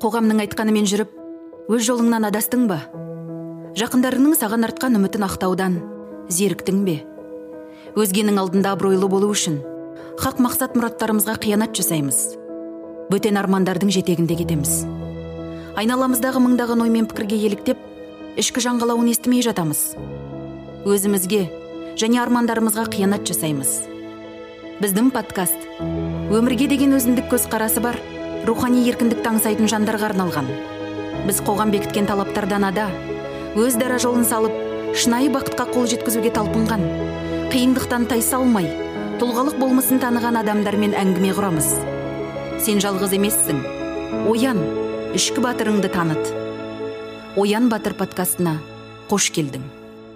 Қоғамның айтқанымен жүріп, өз жолыңнан адастың ба? Жақындарыңның саған артқан үмітін ақтаудан зеріктің бе? Өзгенің алдында абыройлы болу үшін хақ мақсат мұраттарымызға қиянат жасаймыз. Бөтен армандардың жетегінде кетеміз. Айналамыздағы мыңдаған оймен пікірге еліктеп, ішкі жаңғалауын естімей жатамыз. Өзімізге және армандарымызға қиянат жасаймыз. Біздің подкаст өмірге деген өзіндік көзқарасы бар, рухани еркіндікті аңсайтын жандарға арналған. Біз қоғам бекіткен талаптардан ада, өз дара жолын салып, шынайы бақытқа қол жеткізуге талпынған, қиындықтан тайсалмай, тұлғалық болмысын таныған адамдармен әңгіме құрамыз. Сен жалғыз емессің. Оян, ішкі батырыңды таныт. Оян Батыр подкастына қош келдің.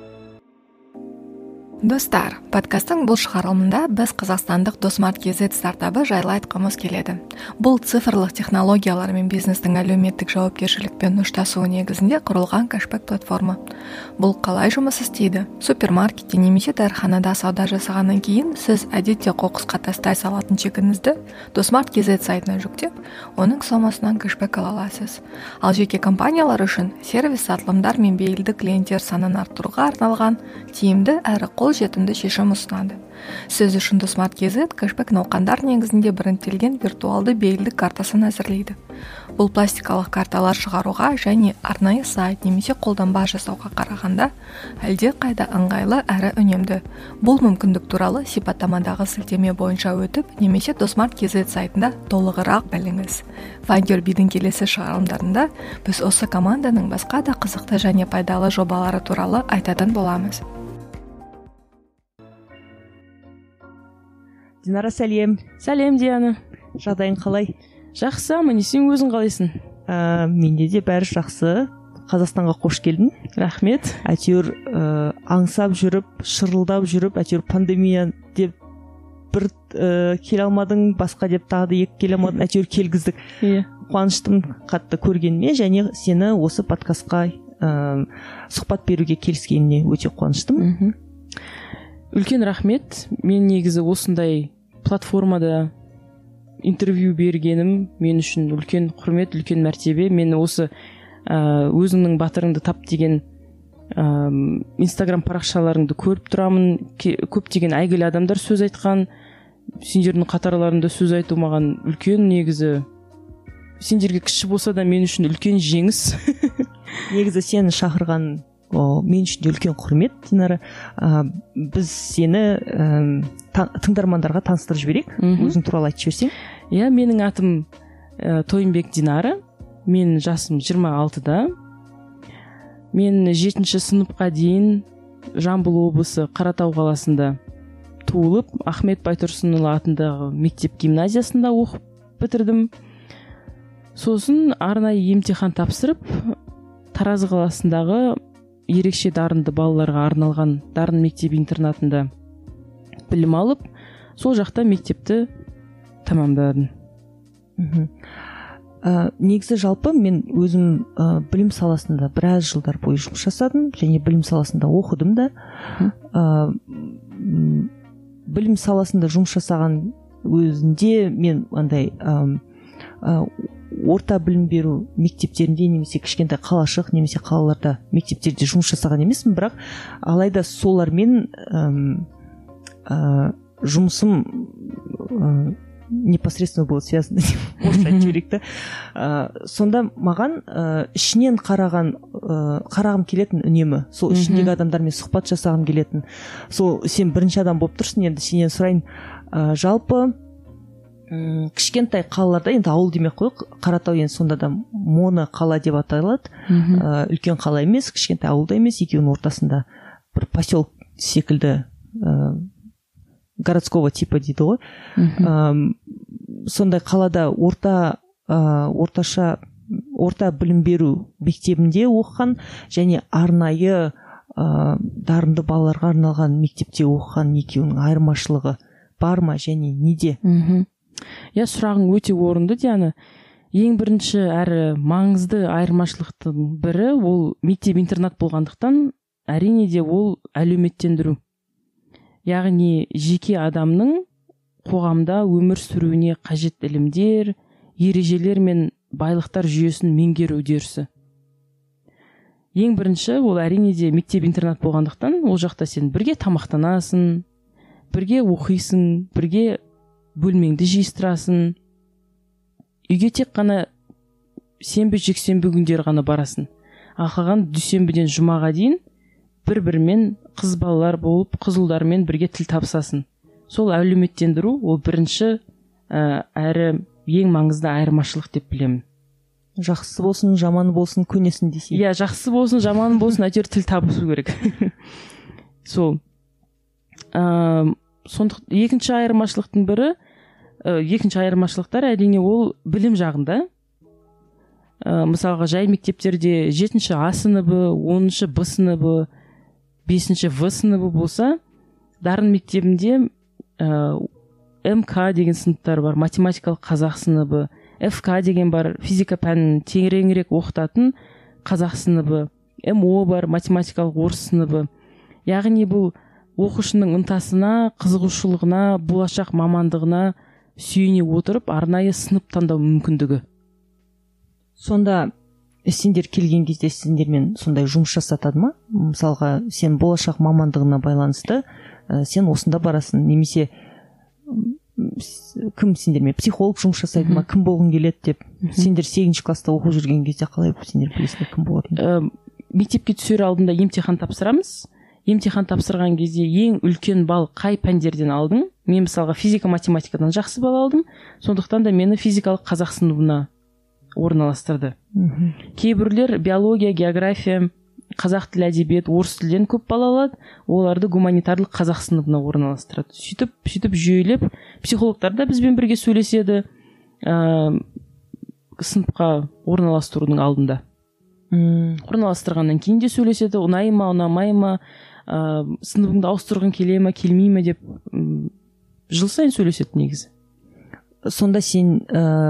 Достар, подкасттың бұл шығарылымында біз қазақстандық Досмарт.kz стартабы жайлы айтқымыз келеді. Бұл цифрлық технологиялар мен бизнестің әлеуметтік жауапкершілікпен ұштасуы негізінде құрылған кэшбэк платформа. Бұл қалай жұмыс істейді? Супермаркетте немесе дәріханада сауда жасағаннан кейін сіз әдетте қоқысқа тастай салатын чегіңізді Досмарт.kz сайтына жүктеп, оның сомасынан кэшбэк ала аласыз. Ал жеке компаниялар үшін сервис сатылымдар мен бейілді клиенттер санын арттыруға арналған тиімді әрі қолжетімді шешім ұсынады. Сіз үшін Досмарт.kz кэшбэк науқандар негізінде біріктірілген виртуалды бейілдік картасын әзірлейді. Бұл пластикалық карталар шығаруға және арнайы сайт немесе қолданба жасауға қарағанда әлде қайда ыңғайлы әрі үнемді. Бұл мүмкіндік туралы сипаттамадағы сілтеме бойынша өтіп, немесе Досмарт.kz сайтында толығырақ біліңіз. Find-Your-Bee'дің келесі шығарылымдарында біз осы команданың басқа да қызықты және пайдалы жобалары туралы айтатын боламыз. Динара, сәлем. Сәлем, Диана. Жағдайың қалай? Жақсы, аман, сен өзің қалайсың? Менде де бәрі жақсы. Қазақстанға қош келдің. Рахмет. Әйтеуір аңсап жүріп, шырылдап жүріп, әйтеуір пандемия деп бір келе алмадың, басқа деп тағы да екі келе алмадың, әйтеуір келгіздік. Қуаныштым қатты көргеніме, және сені осы подкастқа сұхбат беруге келіскеніне өте қуаныштым. Үлкен рахмет. Мен негізі осындай платформада интервью бергенім мен үшін үлкен құрмет, үлкен мәртебе. Мен осы өзіңнің батырыңды тап деген инстаграм парақшаларыңды көріп тұрамын. Көптеген әйгілі адамдар сөз айтқан, сендердің қатарларында сөз айту маған үлкен, негізі сендерге кіші болса да мен үшін үлкен жеңіс. Негізі сені шақырған мен үшін де үлкен құрмет, Динара. Біз сені тыңдармандарға таныстырып жіберейік. Өзің туралы айтып жіберсең. Иә, менің атым Тойынбек Динара. Мен жасым 26-да. Мен 7-ші сыныпқа дейін Жамбыл облысы Қаратау қаласында туылып, Ахмет Байтұрсынұлы атындағы мектеп гимназиясында оқып бітірдім. Сосын арнайы емтихан тапсырып, Таразы қаласындағы ерекше дарынды балаларға арналған дарын мектеп интернатында білім алып, сол жақта мектепті тамамдадым. Негізі жалпы мен өзім білім саласында біраз жылдар бойы жұмыс жасадым, және білім саласында оқыдым да. Білім саласында жұмыс жасаған өзінде мен андай орта білім беру мектептерінде немесе кішкентай қалашық немесе қалаларда мектептерде жұмыс жасаған емеспін, бірақ алайда солармен жұмысым непосредственно было связано, орысша жүректі. Сонда маған ішінен қарағым келетін үнемі, сол ішіндегі адамдармен сұхбат жасағым келетін. Сол сен бірінші адам болып тұрсың, енді сенен сұрайын, жалпы кішкентай қалаларда, енді ауыл демек қойық, Қаратау енді сонда да моно қала деп аталады. Үлкен қала емес, кішкентай ауылда емес, екеуінің ортасында бір поселок секілді городского типа дейді ғой. Сондай қалада орта білім беру мектебінде оқыған, және арнайы дарынды балаларға арналған мектепте оқыған екеуінің айырмашылығы бар ма және неде? Иә, сұрағың өте орынды, Диана. Ең бірінші әрі маңызды айырмашылықтың бірі ол мектеп-интернат болғандықтан, әрине де ол әлеуметтендіру. Яғни жеке адамның қоғамда өмір сүруіне қажет ілімдер, ережелер мен байлықтар жүйесін меңгеру үдерісі. Ең бірінші ол әрине де мектеп интернат болғандықтан ол жақта сен бірге тамақтанасың, бірге оқисың, бірге бөлмеңді жиыстырасың. Үйге тек қана сенбі жексенбі күндері ғана барасың. Ал қалған дүйсенбіден жұмаға дейін бір-бірімен қыз балалар болып қызылдармен бірге тіл табысасың. Сол әлеуметтендіру ол бірінші әрі ең маңызды айырмашылық деп білемін. Жақсы болсын, жаманы болсын, көнесін десе. Иә, жақсы болсын, жаманы болсын, әйтеуір тіл табысу керек. Сол. Екінші айырмашылықтың бірі, екінші айырмашылықтар әрине ол білім жағында. Мысалға, жай мектептерде 7-ші А сыныбы, 10-ші Б сыныбы, 5-ші В сыныбы болса, дарын мектебінде МК деген сыныптар бар, математикалық қазақ сыныбы, ФК деген бар, физика пәнін тереңірек оқытатын қазақ сыныбы, МО бар, математикалық орыс сыныбы. Яғни бұл оқушының ынтасына, қызығушылығына, болашақ мамандығына сүйене отырып, арнайы сынып таңдау мүмкіндігі. Сонда сендер келген кезде сендермен сондай жұмыс жасатады ма? Мысалға, сен болашақ мамандығына байланысты сен осында барасың, немесе кім сендермен психолог жұмыс жасайды ма, кім болғың келеді деп. Сендер 8-ші класста оқып жүрген кезде қалай сендер білесіңдер кім болатынын? Мектепке түсер алдында емтихан тапсырамыз. Емтихан тапсырған кезде ең үлкен балл қай пәндерден алдың? Мен мысалға физика математикадан жақсы балл алдым, сондықтан да мені физикалық қазақ сыныбына орналастырды. Кейбіреулер биология, география, қазақ тіл әдебиет, орыс тілден көп балл алады, оларды гуманитарлық қазақ сыныбына орналастырады. Сөйтіп жүйелеп, психологтар да бізбен бірге сөйлеседі сыныпқа орналастырудың алдында. Орналастырғаннан кейін де сөйлеседі, ұнай ма, ұнамай ма, сыныбыңды ауыстырғың келе ме, келмей ме деп жыл сайын сөйлеседі негізі. Сонда сен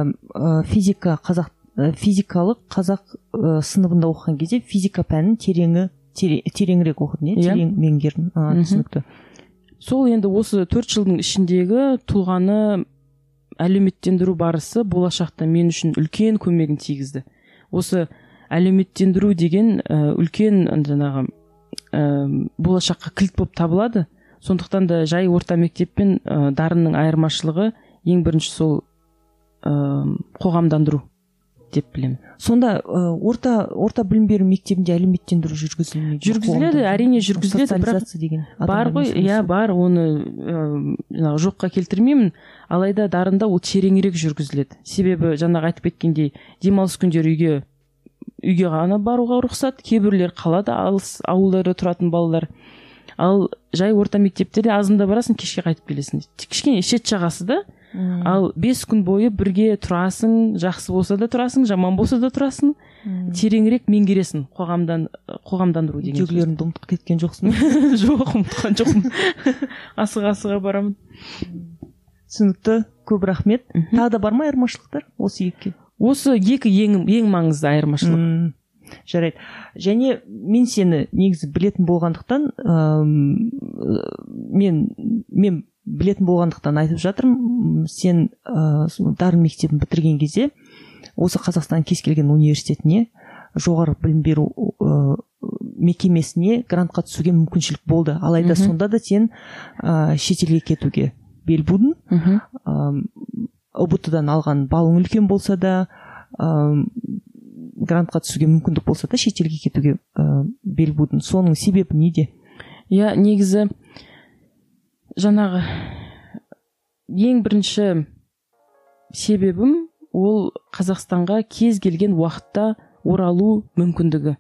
физикалық қазақ сыныбында оқыған кезде физика пәнін тереңірек оқыдың, терең меңгердің. Түсінікті. Сол енді осы 4 жылдың ішіндегі тұлғаны әлеуметтендіру барысы болашақта мен үшін үлкен көмегін тигізді. Осы әлеуметтендіру деген үлкен жаңағы болашаққа кілт болып табылады. Сондықтан да жай орта мектеп пен дарынның айырмашылығы ең бірінші сол қоғамдандыру деп білемін. Сонда орта білім беру мектебінде әлеуметтендіру жүргізілмейді? Жүргізіледі, әрине жүргізіледі, бірақ бар ғой, иә, бар, оны жоққа келтірмеймін, алайда дарында ол тереңірек жүргізіледі. Себебі жаңағы айтып кеткендей, демалыс күндері үйге ғана баруға рұқсат, кейбіреулер қалада алыс ауылдары тұратын балалар. Ал жай орта мектептерде азында барасың, кешке қайтып келесің. Кішкене шет жағасы да. Ал 5 күн бойы бірге тұрасың, жақсы болса да тұрасың, жаман болса да тұрасың, тереңірек меңгересің қоғамдандыру деген. Жүгілеріңді ұмытып кеткен жоқсың? Жоқ, ұмытқан жоқпын. Асыға барамын. Түсінікті, көп рахмет. Тағы да бар ма айырмашылықтар осы екіге? Осы екі ең маңызды айырмашылық. Жарайды. Және мен сені негізі білетін болғандықтан, мен білетін болғандықтан айтып жатырмын, сен дарын мектебін бітірген кезде осы Қазақстан кез келген университетіне, жоғары білім беру мекемесіне грантқа түсуге мүмкіншілік болды. Алайда сонда да сен шетелге кетуге бел будың. УБТ-дан алған балың үлкен болса да, грантқа түсуге мүмкіндік болса да, шетелге кетуге бел будың. Соның себебі неде? Иә, негізі жаңағы ең бірінші себебім ол Қазақстанға кез келген уақытта оралу мүмкіндігі.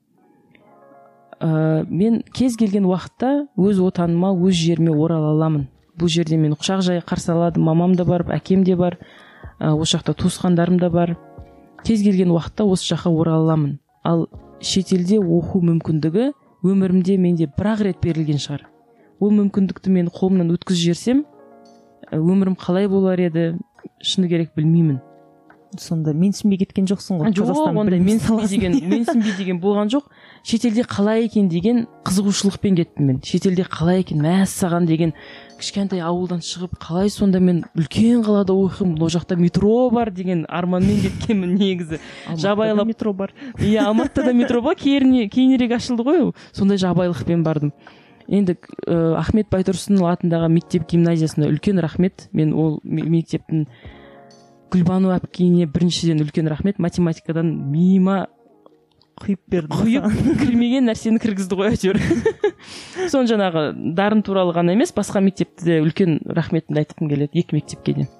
Мен кез келген уақытта өз отаныма, өз жеріме орала аламын. Бұл жерде мен құшақ жай қарсы алады, мамам да бар, әкем де бар, осы жақта туысқандарым да бар. Кез келген уақытта осы жаққа орала аламын. Ал шетелде оқу мүмкіндігі өмірімде менде бір-ақ рет берілген шығар. Ол мүмкіндікті мен қолымнан өткізіп жіберсем, өмірім қалай болар еді, шыны керек білмеймін. сонда менсінбей кеткен жоқсың ғой? Жоқ, ондай менсінбей деген болған жоқ. Шетелде қалай екен деген қызығушылықпен кеттім мен. Шетелде қалай екен, мәссаған деген кішкентай ауылдан шығып, қалай сонда мен үлкен қалада оқимын, ол жақта метро бар деген арманмен кеткенмін негізі. Жабайлап метро бар. Иә, Алматыда да метро бар, кейінірек ашылды ғой ол. Сондай жабайлықпен бардым. Енді Ахмет Байтұрсынұлы атындағы мектеп гимназиясына үлкен рахмет. Мен ол мектептің Гүлбану әпкейіне біріншіден үлкен рахмет. Математикадан миыма құйып берді. Кірмеген нәрсені кіргізді ғой әйтеуір. Соны жаңағы дарын туралы ғана емес, басқа мектепте де үлкен рахметімді айтқым келеді, екі мектепке де.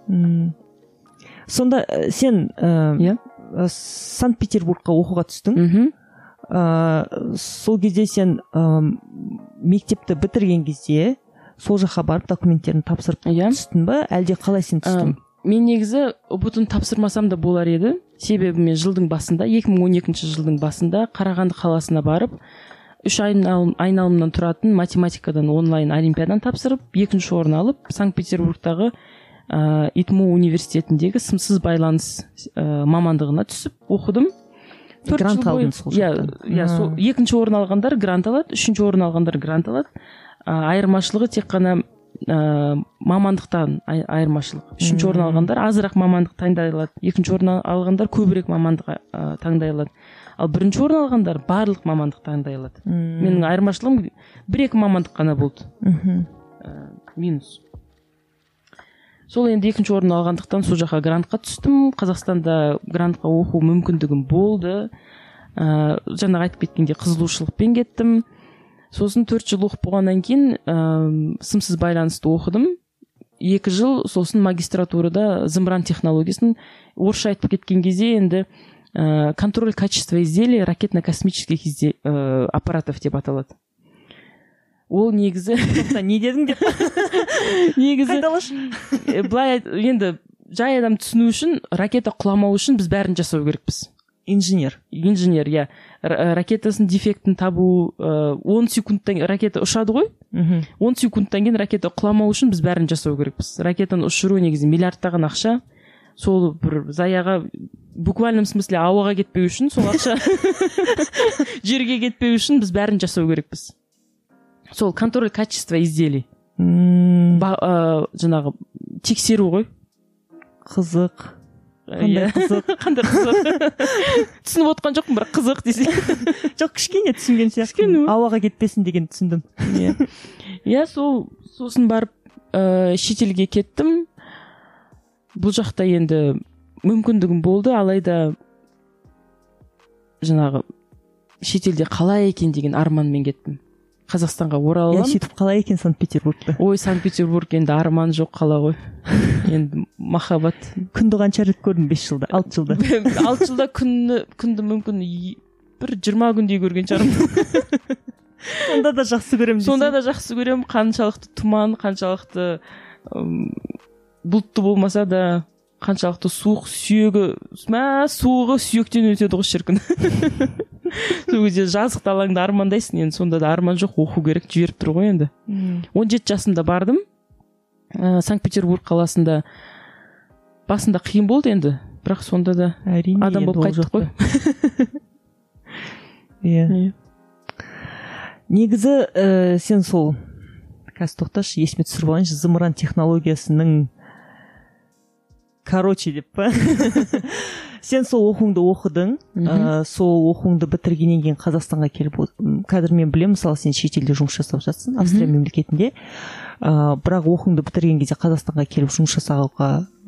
Сонда сен Санкт-Петербургқа оқуға түстің. Сол кезде сен мектепті бітірген кезде сол жаққа барып документтерін тапсырып түстің ба, әлде қалай сен түстің? Мен негізі ұбт-ны тапсырмасам да болар еді. Себебі мен жылдың басында, 2012 жылдың басында Қарағанды қаласына барып, 3 айналымнан тұратын математикадан онлайн олимпиадан тапсырып, 2-ші орын алып, Санкт-Петербургтағы ИТМО университетіндегі сымсыз байланыс мамандығына түсіп оқыдым. Грант алдың сол жақта? Иә, 2-ші орын алғандар грант алады, 3-ші орын алғандар грант алады. Айырмашылығы тек қана мамандықтан айырмашылық. 3-ші орын алғандар азырақ мамандық таңдай алады. 2-ші орын алғандар көбірек мамандық таңдай алады. Ал 1-ші орын алғандар барлық мамандық таңдай алады. Менің айырмашылығым 1-2 мамандық қана болды. Минус. Сол енді 2-ші орын алғандықтан сол жаққа грантқа түстім. Қазақстанда грантқа оқу мүмкіндігім болды. Жаңа айтып кеткенде қызығушылықпен кеттім. Сосын 4 жыл оқып болғаннан кейін сымсыз байланысты оқыдым. 2 жыл сосын магистратурада зымыран технологиясын, орысша айтып кеткен кезде енді контроль качества изделий ракетно-космических аппаратов деп аталады. Ол негізі не дедің деп негізі былай енді жай адам түсіну үшін, ракета құламау үшін біз бәрін жасау керекпіз. Инженер, иә. Ракетасын дефектін табу, 10 секундтан ракета ұшады ғой. 10 секундтан кейін ракета құламау үшін біз бәрін жасау керекпіз. Ракетаны ұшыру негізі миллиардтаған ақша. Сол бір заяға, буквальном смысле ауаға кетпеу үшін, сол ақша жерге кетпеу үшін біз бәрін жасау керекпіз. Сол контроль качества изделий. Жаңағы тексеру ғой. Қызық. Қандай қызық. Түсініп отқан жоқпын, бірақ қызық десе. Жоқ, кішкене түсінген сияқты. Ауаға кетпесін деген түсіндім. Иә, сосын барып шетелге кеттім. Бұл жақта енді мүмкіндігім болды, алайда жаңағы шетелде қалай екен деген арманмен кеттім. Қазақстанға оралам. Сөйтіп қалай екен Санкт-Петербургта? Ой, Санкт-Петербург енді арман жоқ қала ғой. Енді махаббат. Күнді қанша рет көрдің 5 жылда, 6 жылда? 6 жылда күнді мүмкін бір 20 күндей көрген шығармын. Сонда да жақсы көремін. Сонда да жақсы көремін. Қаншалықты тұман, қаншалықты бұлтты болмаса да, қаншалықты суық, суығы сүйектен өтеді ғой шіркін. Сол кезде жазықты алаңда армандайсың, енді сонда да арман жоқ, оқу керек, жіберіп тұр ғой енді. 17 жасымда бардым. Санкт-Петербург қаласында басында қиын болды енді, бірақ сонда да адам болып қайттық қой. Иә. Негізі сен сол, қазір тоқташы, есіме түсіріп алайыншы, зымыран технологиясының деп па? Сен сол оқуыңды оқыдың, сол оқуыңды бітіргеннен кейін Қазақстанға келіп, қазір мен білемін, мысалы сен шетелде жұмыс жасап жатсың, Австрия мемлекетінде, бірақ оқуыңды бітірген кезде Қазақстанға келіп жұмыс жасауға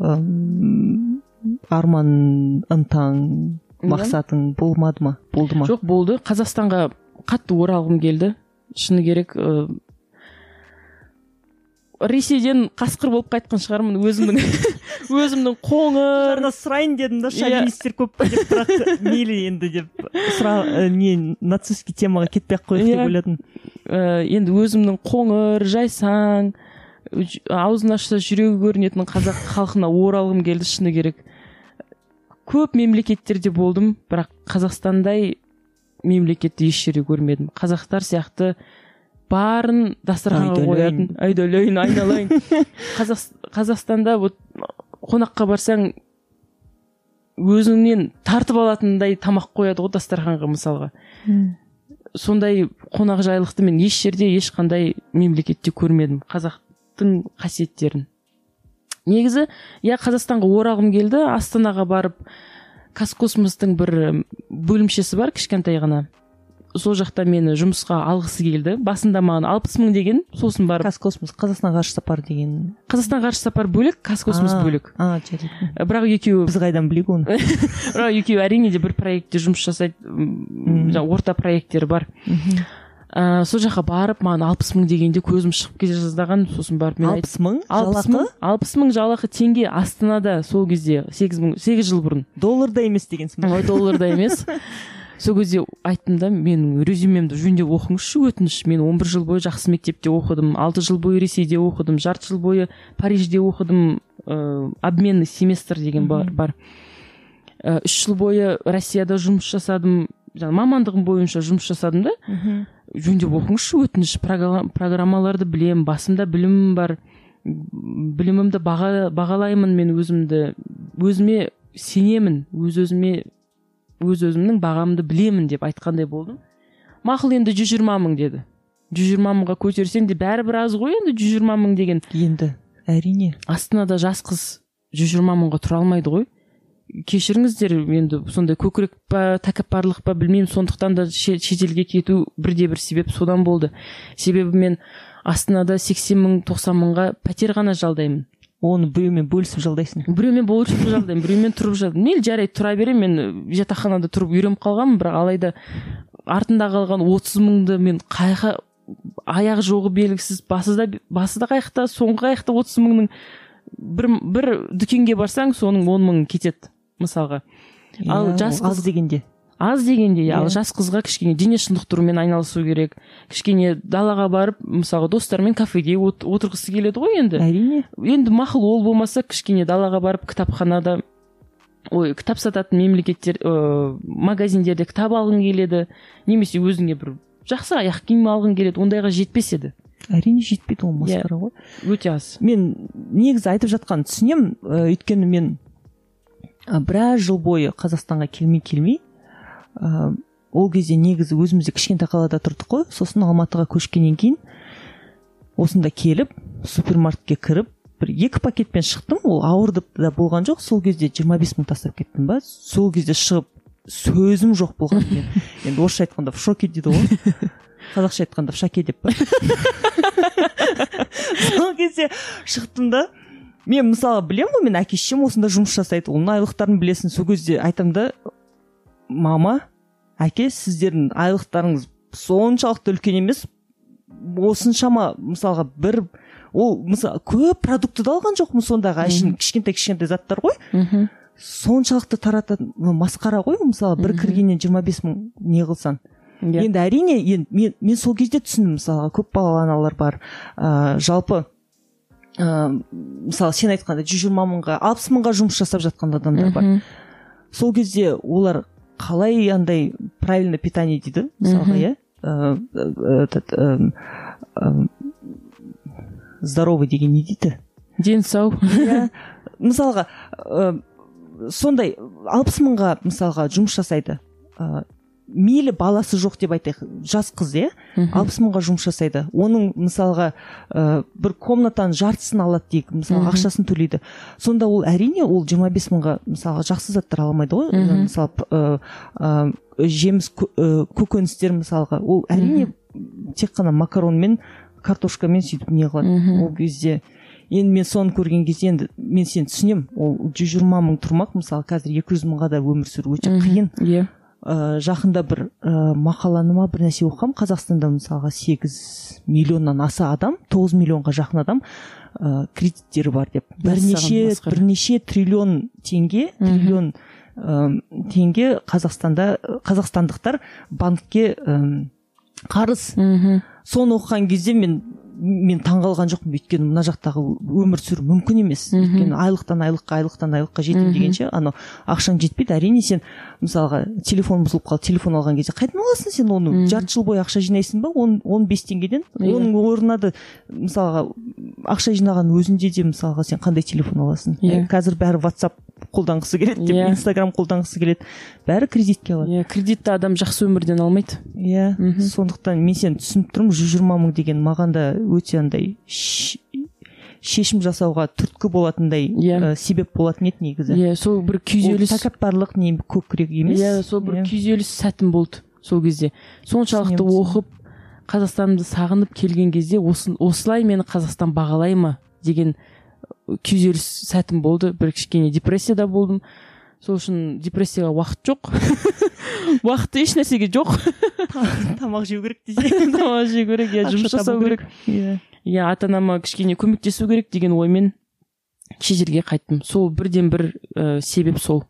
арман, ынтаң, мақсатың болмады ма? Болды ма? Жоқ, болды. Қазақстанға қатты оралғым келді. Шыны керек, Ресейден қасқыр болып қайтқан шығармын, өзімнің қоңыр. Жарна сұрайын дедім да, шовинистер көп па деп, бірақ мейлі енді деп, нацистский темаға кетпей-ақ қойық деп ойладым. Енді өзімнің қоңыр, жайсаң, аузын ашса жүрегі көрінетін қазақ халқына оралғым келді, шыны керек. Көп мемлекеттерде болдым, бірақ Қазақстандай мемлекетті еш жерде көрмедім. Қазақтар сияқты барын дастарханға қоятын, айдалайын, айналайын. Қазақстанда қонаққа барсаң өзіңнен тартып алатындай тамақ қояды ғой дастарханға мысалға. Сондай қонақжайлықты мен еш жерде ешқандай мемлекетте көрмедім, қазақтың қасиеттерін. Негізі, Қазақстанға оралғым келді, Астанаға барып, Қазкосмостың бір бөлімшесі бар, кішкентай ғана. Сол жақта мені жұмысқа алғысы келді. Басында маған 60 мың деген, сосын барып. Қазкосмос, Қазақстан ғарыш сапары деген. Қазақстан ғарыш сапары бөлек, Қазкосмос бөлек. Жарайды. Бірақ екеуі біз қайдан білейік оны. Бірақ екеуі әрине де бір проектте жұмыс жасайды, орта проекттері бар. Сол жаққа барып, маған 60 мың дегенде көзім шығып кете жаздаған, сосын барып мен 60 мың жалақы? 60 мың жалақы теңге Астанада сол кезде 8 жыл бұрын. Долларда емес дегенсің ба? Долларда емес. Сол кезде айттым да, менің резюмемді жөндеп оқыңызшы, өтініш. Мен 11 жыл бойы жақсы мектепте оқыдым, 6 жыл бойы Ресейде оқыдым, жарты жыл бойы Парижде оқыдым, обменный семестр деген бар. 3 жыл бойы Россияда жұмыс жасадым, мамандығым бойынша жұмыс жасадым да. Жөндеп оқыңызшы, өтініш, программаларды білем, басымда білімім бар, білімімді бағалаймын, мен өзіме сенемін, өз-өзімнің бағамды білемін деп айтқандай болдым. Мақұл, енді 120 мың деді. 120 мыңға көтерсең де бәрібір аз ғой, енді 120 мың деген. Енді, әрине. Астанада жас қыз 120 мыңға тұра алмайды ғой. Кешіріңіздер, енді сондай көкірек па, тәкаппарлық па білмеймін, сондықтан да шетелге кету бірде-бір себеп содан болды. Себебі мен Астанада 80 мың, 90 мыңға пәтер ғана жалдаймын. Оны біреумен бөлісіп жалдайсың? Біреумен бөлісіп жалдаймын, біреумен тұрып жалдаймын. Мейлі жарайды, тұра берем, мен жатақханада тұрып үйреніп қалғанмын, бірақ алайда артында қалған 30 мыңды мен қайқа аяқ жоғы белгісіз, басы да қайықта, соңғы қайықта 30 мыңның бір дүкенге барсаң, соның 10 мың кетеді, мысалға. Ал жас қыз дегенде. Аз дегенде, ал жас қызға кішкене дене шынықтырумен айналысу керек. Кішкене далаға барып, мысалға достармен кафеде отырғысы келеді ғой енді. Әрине. Енді мақұл ол болмаса, кішкене далаға барып кітапханада, кітап сататын мемлекеттер, магазиндерде кітап алғың келеді, немесе өзіңе бір жақсы аяқ киім алғың келеді, ондайға жетпес еді. Әрине жетпейді, ол масқара ғой. Өте аз. Мен негізі айтып жатқан түсінем, өйткені мен біраз жыл бойы Қазақстанға келмей, ол кезде негізі өзімізде кішкентай қалада тұрдық қой, сосын Алматыға көшкеннен кейін осында келіп, супермаркетке кіріп, бір 2 пакетпен шықтым, ол ауырдып да болған жоқ, сол кезде 25 мың тастап кеттім ба, сол кезде шығып сөзім жоқ болған мен. Енді орысша айтқанда в шоке дейді ғой, қазақша айтқанда в шаке деп па. Сол кезде шықтым да, мен мысалы білем ғой, мен әке-шешем осында жұмыс жасайды, оның айлықтарын білесің, сол кезде айтам да, мама, әке, сіздердің айлықтарыңыз соншалықты үлкен емес, осыншама мысалға мысалы көп продукты да алған жоқпын сондағы әшейін кішкентай заттар ғой, соншалықты тарататын масқара ғой, мысалы бір кіргеннен 25 мың не қылсан. Енді әрине, мен сол кезде түсіндім, мысалға көп балалы аналар бар, жалпы мысалы сен айтқанда 120 мыңға 60 мыңға жұмыс жасап жатқан адамдар бар. Сол кезде олар қалай андай правильно питание дейді, мысалға, здоровый деген не дейді? Ден сау. Мысалға, сондай 60 мыңға мысалға жұмыс жасайды. Мейлі баласы жоқ деп айтайық, жас қыз, 60 мыңға жұмыс жасайды. Оның мысалға бір комнатаның жартысын алады дейік, мысалға ақшасын төлейді. Сонда ол әрине ол 25 мыңға мысалға жақсы заттар аламайды ғой. Мысалы жеміс көкөністер мысалға, ол әрине тек қана макаронмен, картошкамен сөйтіп не қылады. Ол кезде енді мен соны көрген кезде енді мен сені түсінем, ол 120 мың тұрмақ, мысалы қазір 200 мыңға да өмір сүру өте қиын. Жақында бір мақаланы ма бір нәрсе оқығам, Қазақстанда мысалға 8 миллионнан аса адам, 9 миллионға жақын адам кредиттері бар деп. Бірнеше триллион теңге қазақстандықтар банкке қарыз. Соны оқыған кезде мен таңғалған жоқпын, өйткені мына жақтағы өмір сүру мүмкін емес. Өйткені айлықтан айлыққа жетем дегенше, анау ақшаң жетпейді. Әрине сен мысалға телефон бұзылып қалды, телефон алған кезде қайдан аласың сен оны? Жарты жыл бойы ақша жинайсың ба? 15 теңгеден. Оның орнына да мысалға ақша жинаған өзінде де мысалға сен қандай телефон аласың? Қазір бәрі WhatsApp қолданғысы келеді деп, Инстаграм қолданғысы келеді, бәрі кредитке алады. Кредитті адам жақсы өмірден алмайды. Сондықтан мен сені түсініп тұрмын, 120 мың деген маған да өте андай шешім жасауға түрткі болатындай себеп болатын еді негізі. Сол бір күйзеліс, тәкаппарлық не көкірек емес. Сол бір күйзеліс сәтім болды сол кезде. Соншалықты оқып, Қазақстанымды сағынып келген кезде осылай мені Қазақстан бағалай ма деген күйзеліс сәтім болды. Бір кішкене депрессияда болдым. Сол үшін депрессияға уақыт жоқ. Уақыты еш нәрсеге жоқ. Тамақ жеу керек десе. Тамақ жеу керек, жұмыс жасау керек. Ата-анама кішкене көмектесу керек деген оймен шетелге қайттым. Сол бірден бір себеп сол.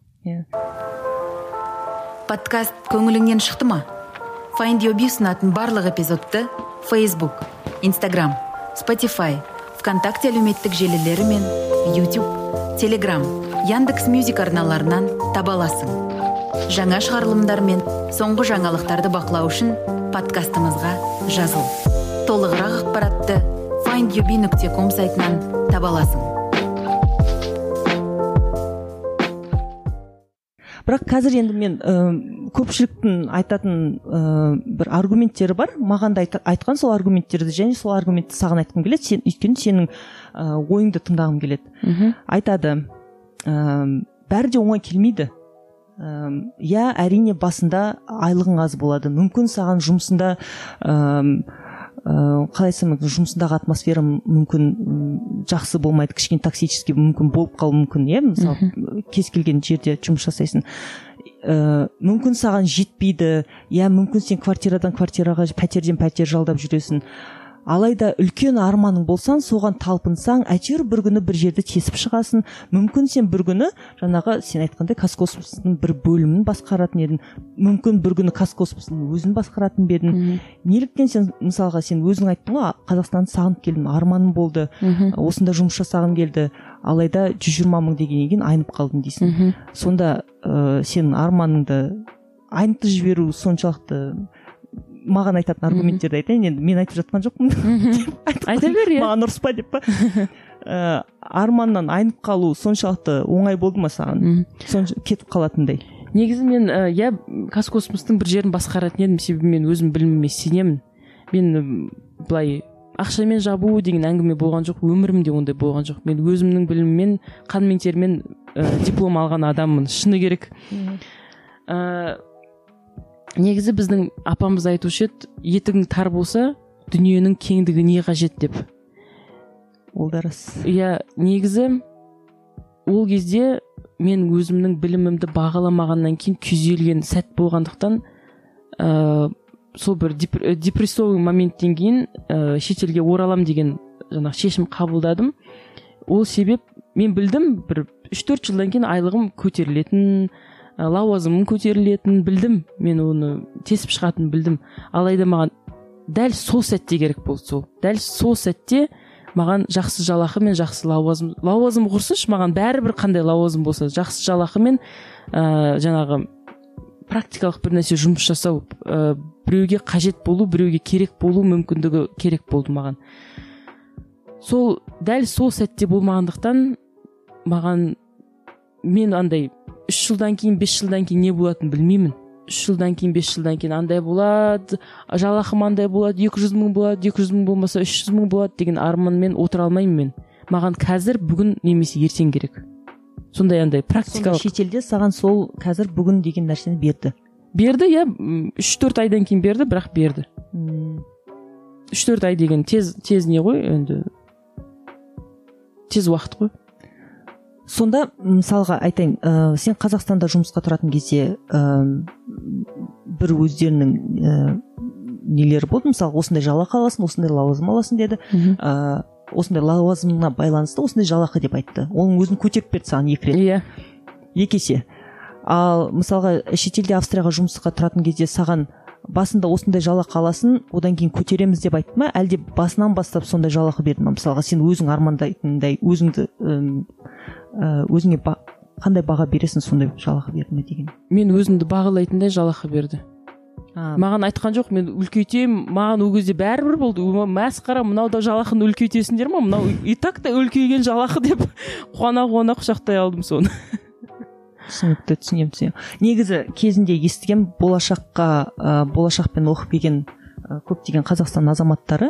Подкаст көңіліңнен шықты ма? Find Your Bee ұсынатын барлық эпизодты Facebook, Instagram, Spotify, ВКонтакте әлеуметтік желілері мен YouTube, Telegram, Яндекс.Мюзик арналарынан таба аласың. Жаңа шығарылымдар мен соңғы жаңалықтарды бақылау үшін подкастымызға жазыл. Толығырақ ақпаратты findyourbee.com сайтынан таба аласың. Бірақ қазір енді мен көпшіліктің айтатын бір аргументтері бар. Маған да айтқан сол аргументтерді және сол аргументті саған айтқым келеді. Өйткені сенің ойыңды тыңдағым келеді. Айтады, бәрі де оңай келмейді. Әрине басында айлығың аз болады. Мүмкін саған жұмысында қалайсың, жұмысындағы атмосфера мүмкін жақсы болмайды, кішкене токсический мүмкін болып қалуы мүмкін, мысалы кез келген жерде жұмыс жасайсың, мүмкін саған жетпейді, мүмкін сен квартирадан квартираға, пәтерден пәтер жалдап жүресің. Алайда үлкен арманың болсан, соған талпынсаң, әйтеуір бір күні бір жерді тесіп шығасың. Мүмкін сен бір күні, жаңағы сен айтқандай, Қазкосмостың бір бөлімін басқаратын едің. Мүмкін бір күні Қазкосмостың өзін басқаратын бедің. Неліктен сен, мысалға, сен өзің айттың ғой, Қазақстанды сағынып келдім, арманым болды, осында жұмыс жасағым келді. Алайда 120 мың дегеннен кейін айнып қалдым дейсің. Сонда сенің арманыңды айнытып жіберу соншалықты маған айтатын аргументтерді айтайын, енді мен айтып жатқан жоқпын. Айта бер, маған ұрыспа деп па. Арманнан айнып қалу соншалықты оңай болды ма саған? Кетіп қалатындай. Негізі мен Қазкосмостың бір жерін басқаратын едім, себебі мен өзім біліміме сенемін. Мен былай ақшамен жабу деген әңгіме болған жоқ, өмірімде ондай болған жоқ. Мен өзімнің біліміммен, қан мен термен диплом алған адаммын, шыны керек. Негізі біздің апамыз айтушы еді, етігің тар болса, дүниенің кеңдігі не қажет деп. Ол да рас. Негізі ол кезде мен өзімнің білімімді бағаламағаннан кейін күйзелген сәт болғандықтан, сол бір депрессовый моменттен кейін шетелге оралам деген шешім қабылдадым. Ол себеп мен білдім, бір 3-4 жылдан кейін айлығым көтерілетін, лауазымым көтерілетін білдім, мен оны тесіп шығатын білдім. Алайда маған дәл сол сәтте керек болды. Дәл сол сәтте маған жақсы жалақы мен жақсы лауазым құрсыншы, маған бәрібір қандай лауазым болса, жақсы жалақы мен жаңағы практикалық бір нәрсе жұмыс жасау, біреуге қажет болу, біреуге керек болу мүмкіндігі керек болды маған. Дәл сол сәтте болмағандықтан маған, мен андай 3 жылдан кейін, 5 жылдан кейін не болатынын білмеймін. 3 жылдан кейін, 5 жылдан кейін андай болады, жалақым андай болады, 200 мың болады, 200 мың болмаса 300 мың болады деген арманмен отыра алмаймын мен. Маған қазір, бүгін немесе ертең керек. Сондай андай практикалық. Сонда шетелде саған сол қазір бүгін деген нәрсені берді? Берді, 3-4 айдан кейін берді, бірақ берді. 3-4 ай деген тез не ғой, енді тез уақыт қой. Сонда, мысалға айтайын, сен Қазақстанда жұмысқа тұратын кезде бір өздерінің нелері болды, мысалы, осындай жалақы аласың, осындай лауазым аласың деді, осындай лауазымына байланысты осындай жалақы деп айтты. Оның өзін көтеріп берді саған 2 рет. 2 есе. Ал мысалға шетелде Австрияға жұмысқа тұратын кезде саған басында осындай жалақы аласың, одан кейін көтереміз деп айтты ма, әлде басынан бастап сондай жалақы берді ма? Мысалға сен өзің армандайтындай, өзіңе қандай баға бересің, сондай жалақы берді ме деген? Мен өзімді бағалайтындай жалақы берді. Маған айтқан жоқ, мен үлкейтем, маған ол кезде бәрібір болды. Мәсқара, мынау да жалақыны үлкейтесіңдер ма? Мынау и так та үлкейген жалақы деп қуана құшақтай алдым соны. түсінікті, түсінемін. Негізі кезінде естіген болашақпен оқып келген көптеген Қазақстан азаматтары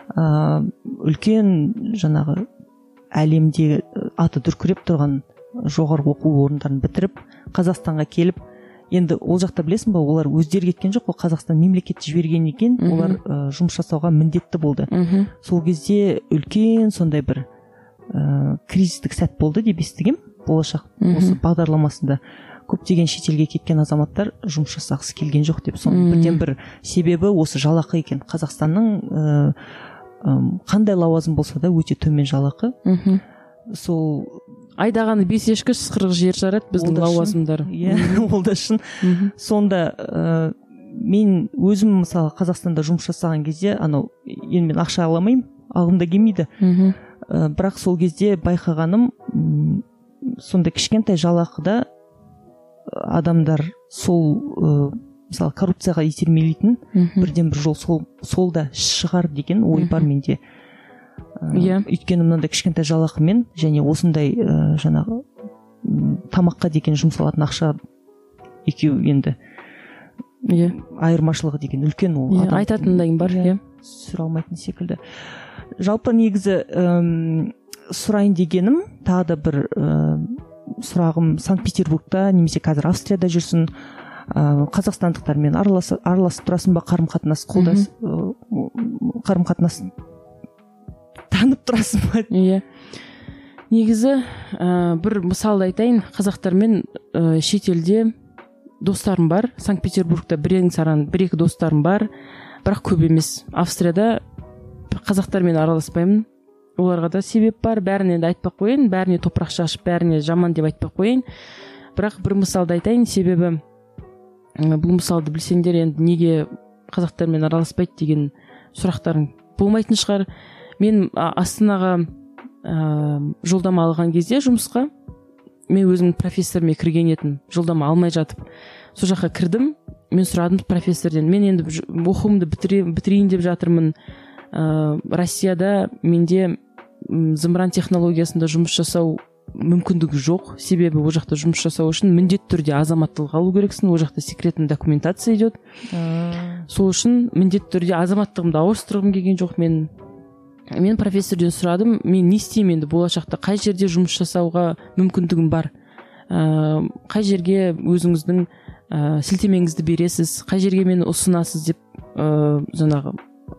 үлкен жаңағы әлемде аты дүркіреп тұрған жоғарғы оқу орындарын бітіріп Қазақстанға келіп, енді ол жақта білесің ба, олар өздері кеткен жоқ, ол Қазақстан мемлекеті жіберген екен, олар жұмыс жасауға міндетті болды. Сол кезде үлкен сондай бір кризистік сәт болды деп естігем. Болашақ осы бағдарламасында көптеген шетелге кеткен азаматтар жұмыс жасағысы келген жоқ деп. Соның бірден бір себебі осы жалақы екен. Қазақстанның қандай лауазым болса да өте төмен жалақы. Сол айдағаны 5 ешкі ысқырық жер жарады біздің лауазымдар. Ол да шын. Сонда мен өзім мысалы Қазақстанда жұмыс жасаған кезде анау енді мен ақша аламаймын, алғым да келмейді. Бірақ сол кезде байқағаным, сонда кішкентай жалақыда адамдар сол мысалы коррупцияға итермелейтін бірден бір жол сол да шығар деген ой бар менде. Өйткені мынандай кішкентай жалақымен және осындай жаңағы тамаққа деген жұмсалатын ақша екеуі енді айырмашылығы деген үлкен. Ол айтатындай бар, сүре алмайтын секілді. Жалпы негізі сұрайын дегенім тағы да бір сұрағым, Санкт-Петербургта немесе қазір Австрияда жүрсің, қазақстандықтармен араласып тұрасың ба, қарым-қатынас танып тұрасың ба? Негізі бір мысалды айтайын, қазақтармен шетелде достарым бар. Санкт-Петербургта бір-екі достарым бар, бірақ көп емес. Австрияда қазақтармен араласпаймын. Оларға да себеп бар, бәріне де айтпақ қойын, бәріне топырақ шашып, бәріне жаман деп айтпақ қойын. Бірақ бір мысалды айтайын, себебі бұл мысалды білсеңдер, енді неге қазақтармен араласпайды деген сұрақтарың болмайтын шығар. Мен Астанаға жолдама алған кезде жұмысқа, мен өзім профессорыме кірген едім, жолдама алмай жатып. Сол жаққа кірдім, мен сұрадым профессорден, мен енді оқуымды бітірейін деп жатырмын. Россияда менде зымыран технологиясында жұмыс жасау мүмкіндігі жоқ, себебі ол жақта жұмыс жасау үшін міндетті түрде азаматтылық алу керексің, ол жақта секретный документация идет. Сол үшін міндетті түрде азаматтығымды ауыстырғым келген жоқ. Мен профессорден сұрадым, мен не істеймін енді болашақта, қай жерде жұмыс жасауға мүмкіндігім бар, қай жерге өзіңіздің сілтемеңізді бересіз, қай жерге мені ұсынасыз деп жаңағы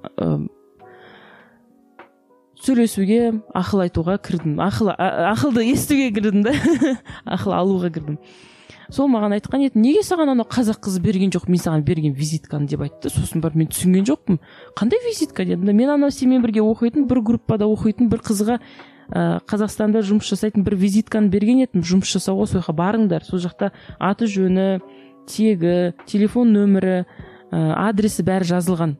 сөйлесуге, ақыл айтуға кірдім. Ақылды естуге кірдім да, ақыл алуға кірдім. Сол маған айтқан еді, неге саған анау қазақ қызы берген жоқ, мен саған берген визитканы деп айтты. Сосын бар, мен түсінген жоқпын. Қандай визитка дедім. Мен анау сенімен бірге оқитын, бір группада оқитын бір қызға Қазақстанда жұмыс жасайтын бір визитканы берген едім. Жұмыс жасауға сол жаққа барыңдар. Сол жақта аты жөні, тегі, телефон нөмірі, адресі бәрі жазылған.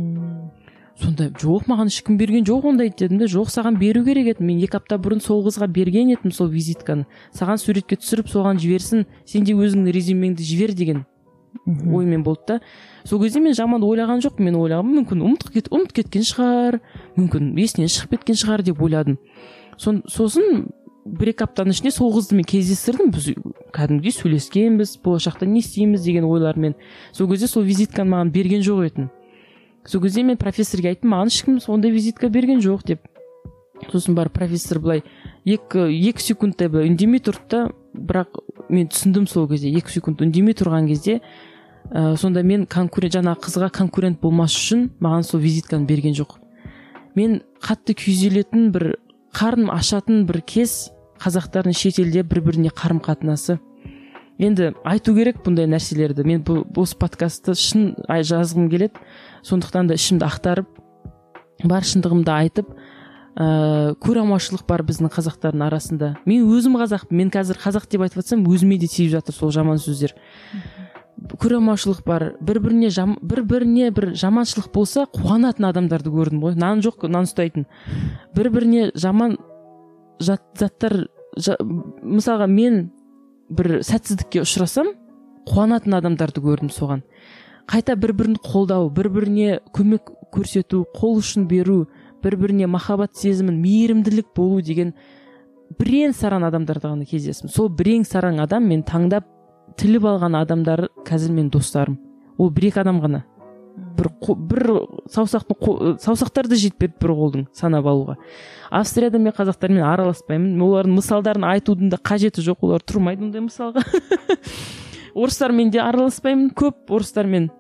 Сонда жоқ, маған ешкім берген жоқ ондай дедім де, жоқ, саған беру керек еді. Мен 2 апта бұрын сол қызға берген едім сол визитканы. Саған суретке түсіріп, соған жіберсін, сен де өзіңнің резюмеңді жібер деген оймен болды да. Сол кезде мен жаман ойлаған жоқ, мен ойлағам, мүмкін ұмыт кеткен шығар, мүмкін есінен шығып кеткен шығар деп ойладым. Сосын 1-2 аптаның ішінде сол қызды мен кездестірдім, біз кәдімгідей сөйлескенбіз, болашақта не істейміз деген ойлармен. Сол кезде сол визитканы маған берген жоқ еді. Сол кезде мен профессорге айттым, маған ешкім ондай визитка берген жоқ деп. Сосын бар профессор былай 2 секундтай былай үндемей тұрды да, бірақ мен түсіндім сол кезде 2 секунд үндемей тұрған кезде, сонда мен жаңағы қызға конкурент болмас үшін маған сол визитканы берген жоқ. Мен қатты күйзелетін, бір қарным ашатын бір кез қазақтардың шетелде бір-біріне қарым-қатынасы. Енді айту керек бұндай нәрселерді. Мен осы подкастты шын жазғым келеді. Сондықтан да ішімді ақтарып, бар шындығымды айтып, көреалмаушылық бар біздің қазақтардың арасында. Мен өзім қазақпын, мен қазір қазақ деп айтып жатсам, өзіме де тиіп жатыр сол жаман сөздер. Көреалмаушылық бар, бір-біріне бір жаманшылық болса, қуанатын адамдарды көрдім ғой. Нан жоқ, нан ұстайтын. Бір-біріне жаман заттар, мысалға мен бір сәтсіздікке ұшырасам, қуанатын адамдарды көрдім соған. Қайта бір-бірін қолдау, бір-біріне көмек көрсету, қол ұшын беру, бір-біріне махаббат сезімін, мейірімділік болу деген бірең саран адамдарда ғана кездестім. Сол бірең саран адам мен таңдап тіліп алған адамдар қазір менің достарым. Ол бір-екі адам ғана. Бір саусақтарды жетпеді бір қолдың санап алуға. Австрияда мен қазақтармен араласпаймын. Олардың мысалдарын айтудың да қажеті жоқ. Олар тұрмайды ондай мысалға. Орыстармен де араласпаймын. Көп орыстармен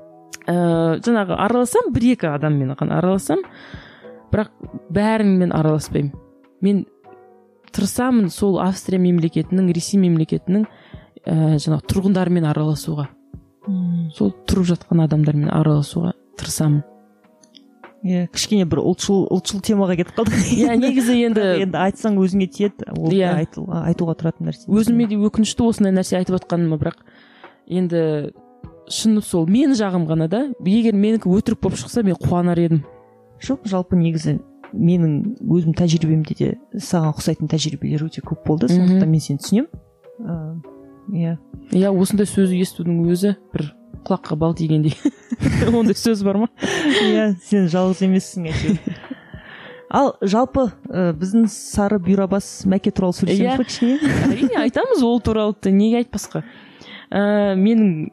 жаңағы араласам, бір-екі адаммен араласам, бірақ бәрімен араласпаймын. Мен тырысамын сол Австрия мемлекетінің, Ресей мемлекетінің жаңағы тұрғындарымен араласуға. Сол тұрып жатқан адамдармен араласуға тырысамын. Кішкене бір ұлтшыл темаға кетіп қалдық. Негізі енді айтсаң өзіңе тиеді, ол айтуға тұратын нәрсе. Өзіме де өкінішті осындай нәрсе айтып жатқаныма, бірақ енді шыны сол мен жағым ғана да. Егер менікі өтірік болып шықса, мен қуанар едім. Жоқ, жалпы негізі менің өзім тәжірибемде де саған ұқсайтын тәжірибелер өте көп болды. Сондықтан мен сені түсінемін. Осындай сөзді естудің өзі бір құлаққа бал тигендей. Ондай сөз бар ма? Сен жалғыз емессің әйтеуір. Ал жалпы біздің сары бұйрабас Мәке туралы сөйлесеміз бе кішкене? Әрине айтамыз ол туралы, неге айтпасқа. Менің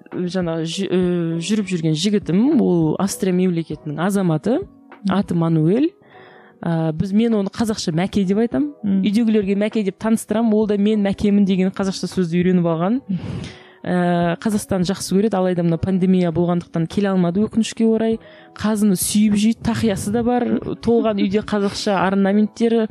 жаңағы жүріп жүрген жігітім, ол Австрия мемлекетінің азаматы, аты Мануэль. Мен оны қазақша Мәке деп айтам. Үйдегілерге Мәке деп таныстырам, ол да мен Мәкемін деген қазақша сөзді үйреніп алған. Қазақстан жақсы көреді, алайда мына пандемия болғандықтан келе алмады өкінішке орай. Қазыны сүйіп жейді, тақиясы да бар, толған үйде қазақша орнаменттері.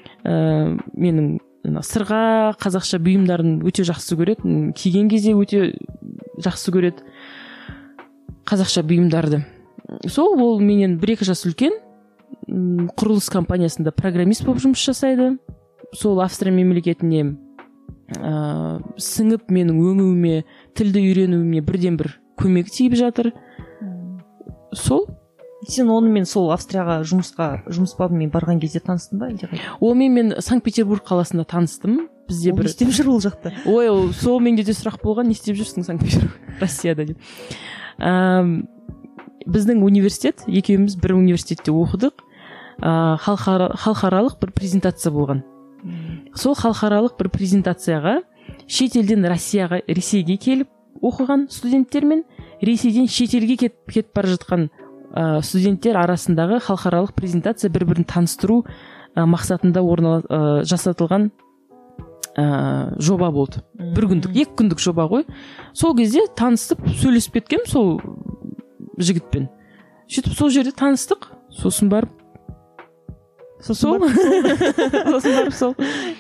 Менің сырға қазақша бұйымдарын өте жақсы көреді, киген кезде өте жақсы көреді қазақша бұйымдарды. Сол ол менен 1-2 жас үлкен, құрылыс компаниясында программист болып жұмыс жасайды. Сол Австрия мемлекетіне сіңіп менің өңуіме, тілді үйренуіме бірден бір көмек тиіп жатыр. Сол. Сен онымен сол Австрияға жұмыс бабымен барған кезде таныстың ба? Онымен мен Санкт-Петербург қаласында таныстым. Бізде бір... Не істеп жүр ол жақта? Сол менде де сұрақ болған, не істеп жүрсің Санкт-Петербург, Россияда деп. Біздің университет, екеуміз бір университетте оқыдық. Халықаралық бір презентация болған. Сол халықаралық бір презентацияға шетелден Ресейге келіп оқыған студенттер мен Ресейден шетелге кетіп бара жатқан студенттер арасындағы халықаралық презентация бір-бірін таныстыру мақсатында жасатылған жоба болды. 1 күндік, 2 күндік жоба ғой. Сол кезде танысып, сөйлесіп кеткем сол жігітпен. Сөйтіп сол жерде таныстық, сосын барып сол.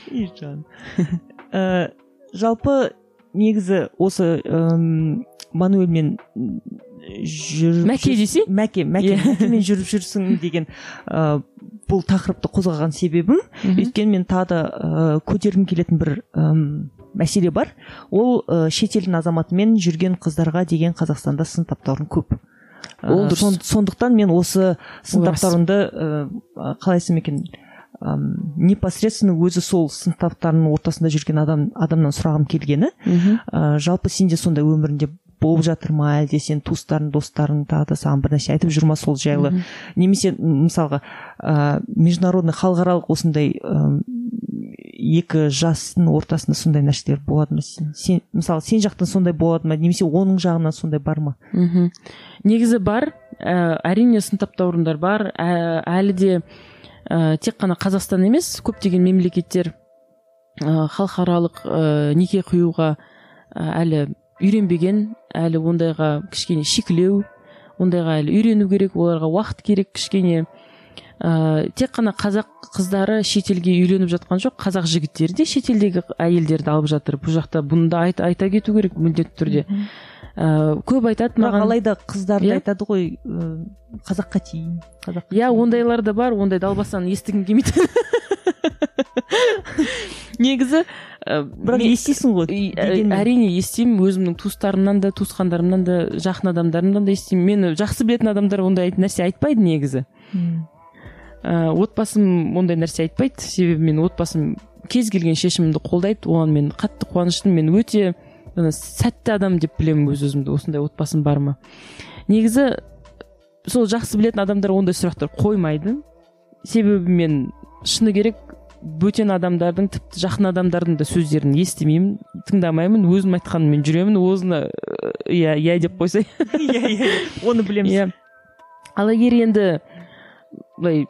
Жалпы негізі осы Мануэльмен Мәке десе? Мәкемен жүріп жүрсің деген бұл тақырыпты қозғаған себебім, өйткені мен тағы да көтергім келетін бір мәселе бар. Ол шетелдің азаматымен жүрген қыздарға деген Қазақстанда сын таптаурын көп. Сондықтан мен осы сын таптаурынды қалай айтсам екен, непосредственно өзі сол сын таптарының ортасында жүрген адамнан сұрағым келгені, жалпы сенде сондай өмірінде болып жатыр ма, әлде сен туыстарың, достарың тағы да саған бір нәрсе айтып жүр ма сол жайлы? Немесе мысалға международный халықаралық осындай екі жастың ортасында сондай нәрселер болады ма? Мысалы сен жақтан сондай болады ма, немесе оның жағынан сондай бар ма? Негізі бар, әрине сын таптаурындар бар, әлі де тек қана Қазақстан емес, көптеген мемлекеттер халықаралық неке қиюға әлі үйренбеген, әлі ондайға кішкене шикілеу, ондайға әлі үйрену керек, оларға уақыт керек кішкене. Тек қана қазақ қыздары шетелге үйленіп жатқан жоқ, қазақ жігіттері де шетелдегі әйелдерді алып жатыр. Бұл жақта бұны да айта кету керек міндетті түрде. Көп айтады маған. Алайда қыздарды айтады ғой, қазаққа тиін. Ондайлар да бар, ондай далбасаны естігім келмейді. Негізі бірақ естисің ғой. Әрине естимін, өзімнің туыстарымнан да, туысқандарымнан да, жақын адамдарымнан да естимін. Мені жақсы білетін адамдар ондай нәрсе айтпайды негізі. Отбасым ондай нәрсе айтпайды, себебі мен отбасым кез келген шешімімді қолдайды, оған мен қатты қуаныштымын. Мен өте сәтті адам деп білемін өз-өзімді, осындай отбасым бар ма. Негізі сол жақсы білетін адамдар ондай сұрақтар қоймайды, себебі мен шыны керек бөтен адамдардың, тіпті жақын адамдардың да сөздерін естімеймін, тыңдамаймын, өзім айтқаныммен жүремін, өзіне иә деп қойсай. Иә, оны білеміз. Иә. Ал егер енді былай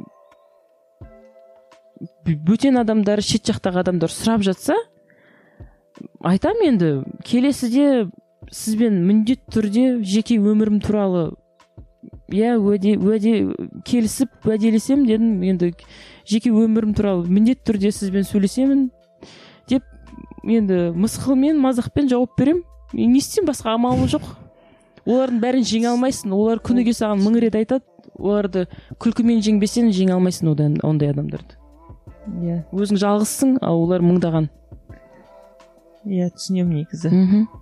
бөтен адамдар, шет жақтағы адамдар сұрап жатса, айтам енді келесіде сізбен міндет түрде жеке өмірім туралы уәде келісіп уәделесем дедім, енді жеке өмірім туралы міндет түрде сізбен сөйлесемін деп енді мысқылмен, мазақпен жауап берем. Не істеймін, басқа амалым жоқ. Олардың бәрін жеңе алмайсың, олар күніге саған 1000 рет айтады, оларды күлкімен жеңбесең жеңе алмайсың ондай адамдарды. Иә, өзің жалғызсың, ал олар мыңдаған. Иә, түсінемін негізі.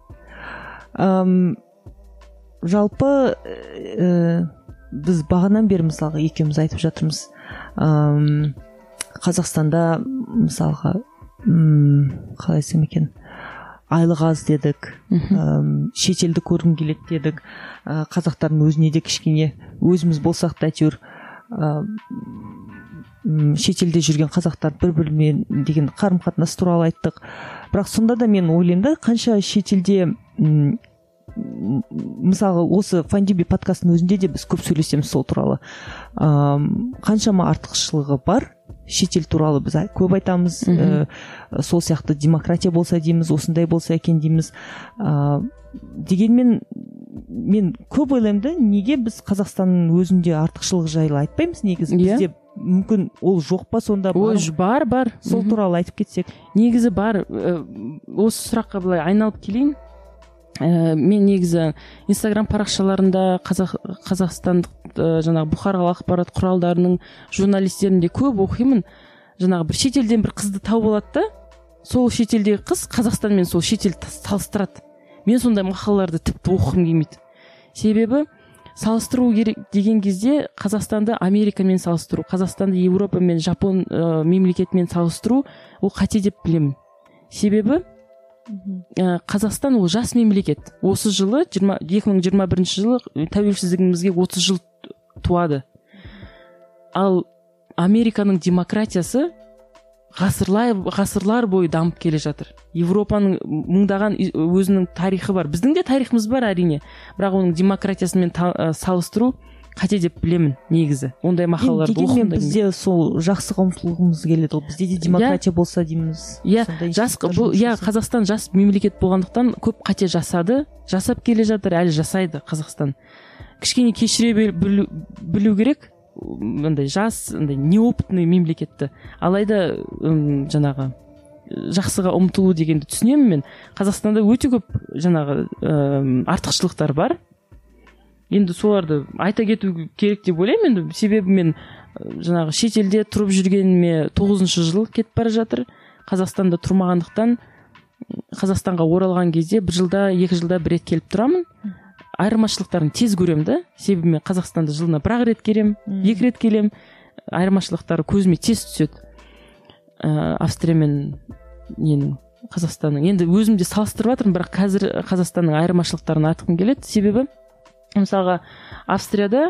Жалпы біз бағанан бері мысалға екеуміз айтып жатырмыз, Қазақстанда мысалға қалай айтсам екен, айлық аз дедік, шетелді көргім келеді дедік, қазақтардың өзіне де кішкене өзіміз болсақ та әйтеуір шетелде жүрген қазақтар бір-бірімен деген қарым-қатынас туралы айттық. Бірақ сонда да мен ойлаймын да, қанша шетелде мысалы осы Файндюби подкастының өзінде де біз көп сөйлесеміз сол туралы. Қаншама артықшылығы бар шетел туралы, біз көп айтамыз. Сол сияқты демократия болса дейміз, осындай болса екен дейміз. Дегенмен мен көп ойлаймын да, неге біз Қазақстанның өзінде артықшылығы жайлы айтпаймыз негізі? Бізде мүмкін ол жоқ па сонда? Бар. Сол туралы айтып кетсек. Негізі бар. Осы сұраққа былай айналып келейін. Мен негізі Инстаграм парақшаларында қазақстандық жаңағы бұқаралық ақпарат құралдарының журналистерінде көп оқимын. Жаңағы бір шетелден бір қызды тауып алады да, сол шетелдегі қыз Қазақстанмен сол шетел салыстырады. Мен сондай мақалаларды тіпті оқығым келмейді. Себебі салыстыру керек деген кезде Қазақстанды Америкамен салыстыру, Қазақстанды Европа мен Жапон мемлекетімен салыстыру ол қате деп білемін. Себебі Қазақстан ол жас мемлекет. Осы жылы 2021 жылы тәуелсіздігімізге 30 жыл туады. Ал Американың демократиясы ғасырлар бойы дамып келе жатыр. Европаның мыңдаған өзінің тарихы бар. Біздің де тарихымыз бар әрине. Бірақ оның демократиясымен салыстыру қате деп білемін негізі. Ондай мақалаларды оқығым. Дегенмен бізде сол жақсыға ұмтылғымыз келеді. Бізде де демократия болса дейміз. Қазақстан жас мемлекет болғандықтан көп қате жасап келе жатыр, әлі жасайды Қазақстан. Кішкене кешіре білу керек. Жас, неопытный мемлекетті. Алайда жаңағы жақсыға ұмтылу дегенді түсінемін мен. Қазақстанда өте көп жаңағы артықшылықтар бар. Енді соларды айта кету керек деп ойлаймын. Енді себебі мен жаңағы шетелде тұрып жүргеніме 9-шы жыл кетіп бара жатыр. Қазақстанда тұрмағандықтан Қазақстанға оралған кезде 1 жылда, 2 жылда 1 рет келіп тұрамын. Айырмашылықтарын тез көремін да. Себебі мен Қазақстанда жылына 1 рет келем, 2 рет келем. Айырмашылықтары көзіме тез түседі. Австрия мен Қазақстанның. Енді өзімде салыстырып жатырмын, бірақ қазір Қазақстанның айырмашылықтарын айтқым келеді. Себебі мысалға Австрияда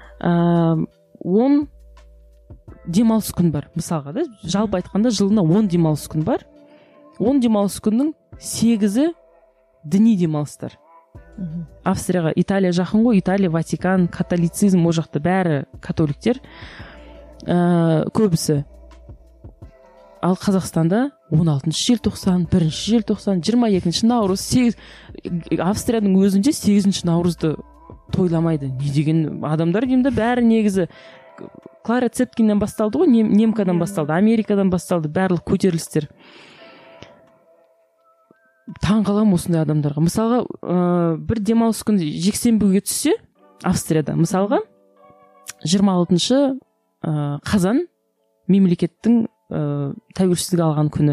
10 демалыс күн бар. Мысалға да, жалпы айтқанда жылына 10 демалыс күн бар. 10 демалыс күннің 8-і діни демалыстар. Австрияға Италия жақын ғой, Италия, Ватикан, католицизм, о жақта бәрі католиктер, көбісі. Ал Қазақстанда 16-шы желтоқсан, 1-ші желтоқсан, 22-ші наурыз, Австрияның өзінде 8-ші наурызды тойламайды. Не деген адамдар деймді, бәрі негізі Клара Цеткиннен басталды ғой, немкадан басталды, Америкадан басталды, барлық көтерілістер. Таң қалам осындай адамдарға. Мысалға, бір демалыс күн жексенбіге түссе, Австрияда, мысалға, 26-шы қазан мемлекеттің тәуелсіздік алған күні.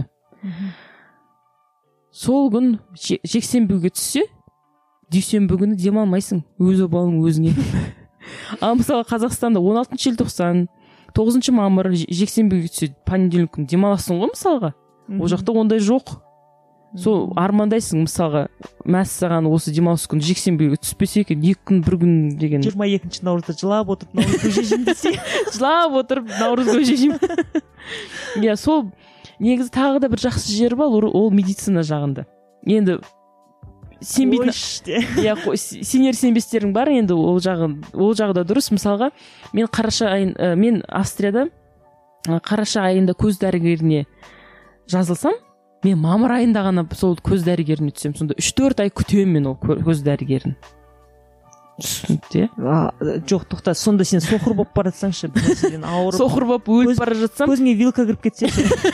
Сол күн жексенбіге түссе, дүйсенбі күні демалмайсың, өз обалың өзіңе. Ал мысалы Қазақстанда 16-шы желтоқсан, 9-шы мамыр жексенбіге түссе, понедельник күні демаласың ғой мысалға. Ол жақта ондай жоқ. сол армандайсың, мысалға мәссаған осы демалыс күні жексенбіге түспесе екен, 2 күн 1 күн деген. 22 наурызда жылап отырып наурыз көже жеймін десе. Жылап отырып наурыз көже жеймін. Иә, сол негізі тағы да бір жақсы жері бар, ол медицина жағында. Енді сенбейтін, иә, сенер сенбестерің бар, енді ол жағы да дұрыс. Мысалға мен Австрияда қараша айында көз дәрігеріне жазылсам, мен мамыр айында ғана сол көз дәрігеріне түсем. Сонда 3-4 ай күтемін мен ол көз дәрігерін. Түсінікті? Жоқ, тоқта, сонда сен соқыр болып бара жатсаңшы, ауырып. Соқыр болып өліп бара жатсам. Көзіңе вилка кіріп кетсе.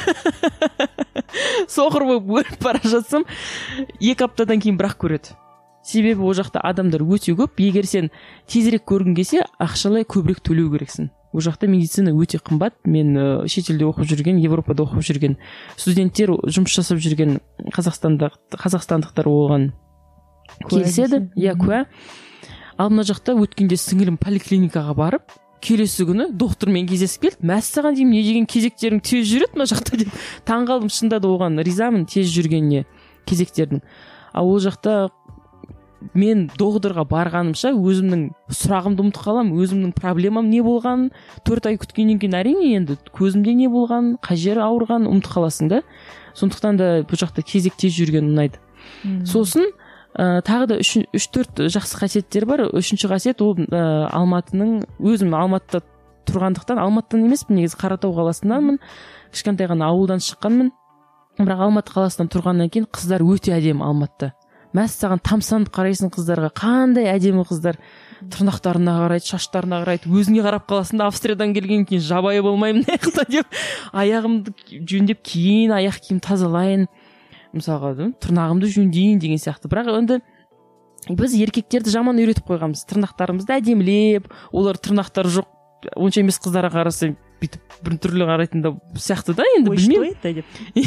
Соқыр болып өліп бара жатсам, 2 аптадан кейін бірақ көреді. Себебі ол жақта адамдар өте көп. Егер сен тезірек көргің келсе, ақшалай көбірек төлеу керексің. Ол жақта медицина өте қымбат. Мен шетелде оқып жүрген, Европада оқып жүрген студенттер, жұмыс жасап жүрген қазақстандықтар оған келіседі. Иә, куә. Ал мына жақта өткенде сіңілім поликлиникаға барып, келесі күні доктормен кездесіп келді. Мәссаған деймін, не деген кезектерің тез жүреді мына жақта деп. Таңғалдым, шынында да оған ризамын тез жүргеніне кезектердің. Ал ол жақта мен докторға барғанымша өзімнің сұрағымды ұмытып қалам, өзімнің проблемам не болғанын 4 ай күткеннен кейін әрине енді көзімде не болғанын, қай жері ауырғанын ұмытып қаласың да. Сондықтан да бұл жақта кезек тез жүрген ұнайды. Сосын тағы да 3-4 жақсы қасиеттер бар. 3-ші қасиет ол Алматының, өзім Алматыда тұрғандықтан, Алматыдан емеспін, негізі Қаратау қаласынданмын, кішкентай ғана ауылдан шыққанмын. Бірақ Алматы қаласынан тұрғаннан кейін қыздар өте әдемі Алматыда. Мәссаған тамсанып қарайсың қыздарға, қандай әдемі қыздар, тырнақтарына қарайды, шаштарына қарайды, өзіңе қарап қаласың да, Австриядан келген кейін жабайы болмаймын аяқта деп, аяғымды жөндеп кейін аяқ киім тазалайын, мысалға тырнағымды жөндейін деген сияқты. Бірақ енді біз еркектерді жаман үйретіп қойғанбыз, тырнақтарымызды әдемілеп, олар тырнақтары жоқ, онша емес қыздарға қараса бүйтіп бір түрлі қарайтын да сияқты да, енді білмеймін.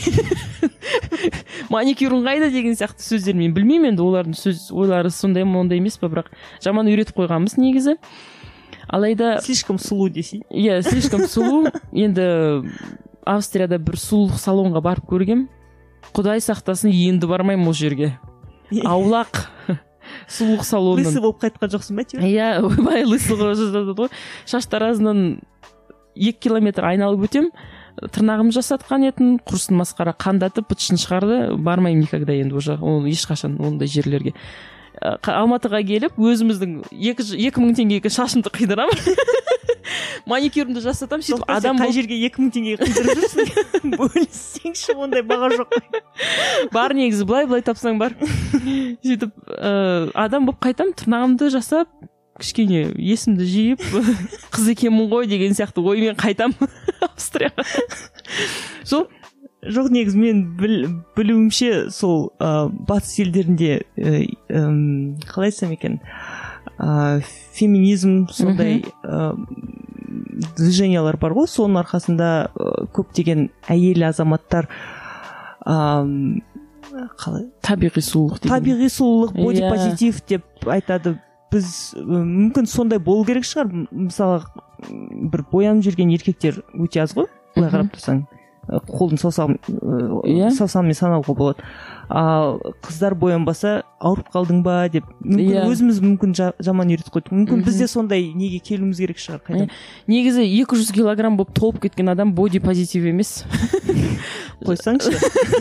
Маникюрің қайда деген сияқты сөздер мен білмеймін, енді олардың ойлары сондай ма, ондай емес па, бірақ жаман үйретіп қойғанбыз негізі. Алайда слишком сұлу десей. Иә, слишком сұлу. Енді Австрияда бір сұлулық салонға барып көргем. Құдай сақтасын, енді бармаймын ол жерге. Аулақ сұлулық салонын. Лысы болып қайтқан жоқсың ба? Иә, ойбай лысы жаздады ғой. Шаштаразынан 2 километр айналып өтем, тырнағым жасатқан етін, құрсын масқара қандатып, бытшын шығарды, бармаймын никогда енді уже, ол ешқашан ондай жерлерге. Алматыға келіп, өзіміздің 2000 теңгеге шашымды қидырамын. Маникюрімді жасатам, сөйтіп адам қай жерге 2000 теңгеге қидырып жүрсің? Бөліссеңші, ондай баға жоқ. Бар негізі, былай тапсаң бар. Сөйтіп адам болып қайтам, тырнағымды жасап, кішкене есімді жиып, қыз екенмін ғой деген сияқты оймен қайтам Австрияға. Сол жоқ, негізі мен білуімше сол батыс елдерінде қалай айтсам екен, феминизм сондай движениялар бар ғой, соның арқасында көптеген әйел азаматтар табиғи сұлулық, бодипозитив деп айтады. Біз мүмкін сондай болу керек шығар. Мысалы, бір боянып жүрген еркектер өте аз ғой, былай қарап тұрсаң, қолын саусағымен санауға болады. Ал қыздар боянбаса ауырып қалдың ба деп, өзіміз мүмкін жаман үйретіп қойдық. Мүмкін бізде сондай неге келуіміз керек шығар қайдан. Негізі 200 килограмм болып толып кеткен адам бодипозитив емес. Қойсаңшы.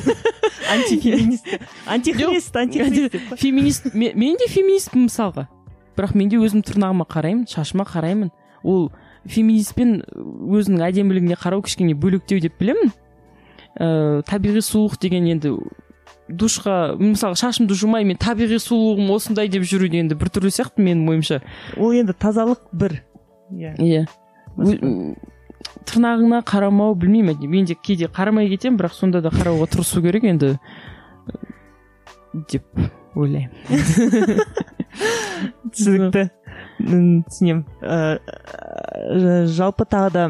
Антихрист. Феминист. Мен де феминистпін мысалға. Бірақ мен де өзім тырнағыма қараймын, шашыма қараймын. Ол феминистпен өзінің әдемілігіне қарау кішкене бөлектеу деп білемін. Табиғи сұлулық деген енді душқа, мысалы шашымды жумай, мен табиғи сұлулығым осындай деп жүру енді бір түрлі сияқты менің ойымша. Ол енді тазалық бір. Иә. Тырнағына қарамау, білмеймін, мен де кейде қарамай кетем, бірақ сонда да қарауға тырысу керек енді деп ойлаймын. Түсінікті. Түсінем. Жалпы тағы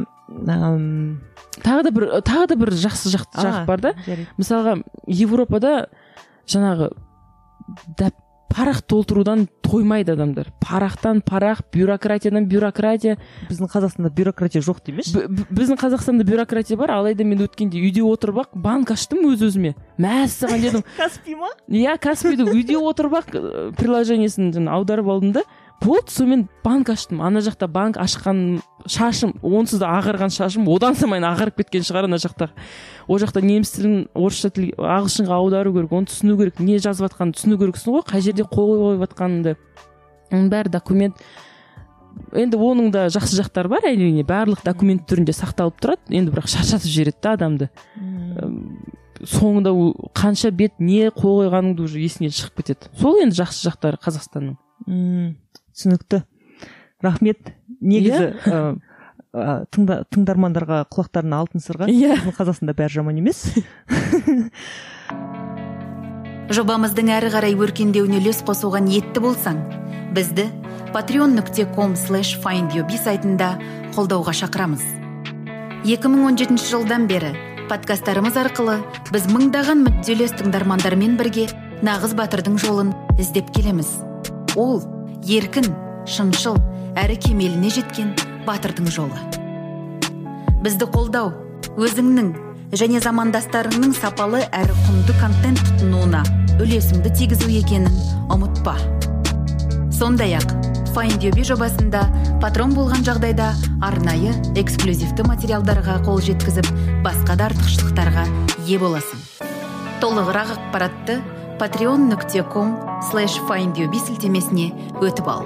да бір жақсы жақ бар да. Мысалға Европада жаңағы парақ толтырудан тоймайды адамдар. Парақтан парақ, бюрократиядан бюрократия. Біздің Қазақстанда бюрократия жоқ демеші. Біздің Қазақстанда бюрократия бар, алайда мен өткенде үйде отырып ақ банк аштым өз-өзіме. Мәссаған дедім. Каспи ма? Иә, Каспиді үйде отырып ақ приложениесін аударып алдым да, болды, сонымен банк аштым. Ана жақта банк ашқан шашым, онсыз да ағарған шашым, одан самайын ағарып кеткен шығар ана жақта. О жақта неміс тілін орысша тілге, ағылшынға аудару керек, оны түсіну керек, не жазып жатқанын түсіну керексің ғой, қай жерде қол қойып жатқаныңды. Оның бәрі документ. Енді оның да жақсы жақтары бар, әрине, барлық документ түрінде сақталып тұрады. Енді бірақ шаршатып жібереді да адамды. Соңында қанша бет не қол қойғаныңды уже есіңнен шығып кетеді. Сол енді жақсы жақтары Қазақстанның. Түсінікті. Рахмет. Негізі тыңдармандарға құлақтарына алтын сырға. Қазақстанда бәрі жаман емес. Жобамыздың әрі қарай өркендеуіне үлес қосуға ниетті болсаң, бізді patreon.com/findyourbe сайтында қолдауға шақырамыз. 2017 жылдан бері подкасттарымыз арқылы біз мыңдаған мүдделес тыңдармандармен бірге нағыз батырдың жолын іздеп келеміз. Ол еркін, шыншыл, әрі кемеліне жеткен батырдың жолы. Бізді қолдау, өзіңнің және замандастарыңның сапалы әрі құнды контент тұтынуына үлесіңді тигізу екенін ұмытпа. Сондай-ақ, Find Your Be жобасында патрон болған жағдайда арнайы эксклюзивті материалдарға қол жеткізіп, басқа да артықшылықтарға ие боласың. Толығырақ ақпаратты patreon.com/findyourbe сілтемесіне өтіп ал.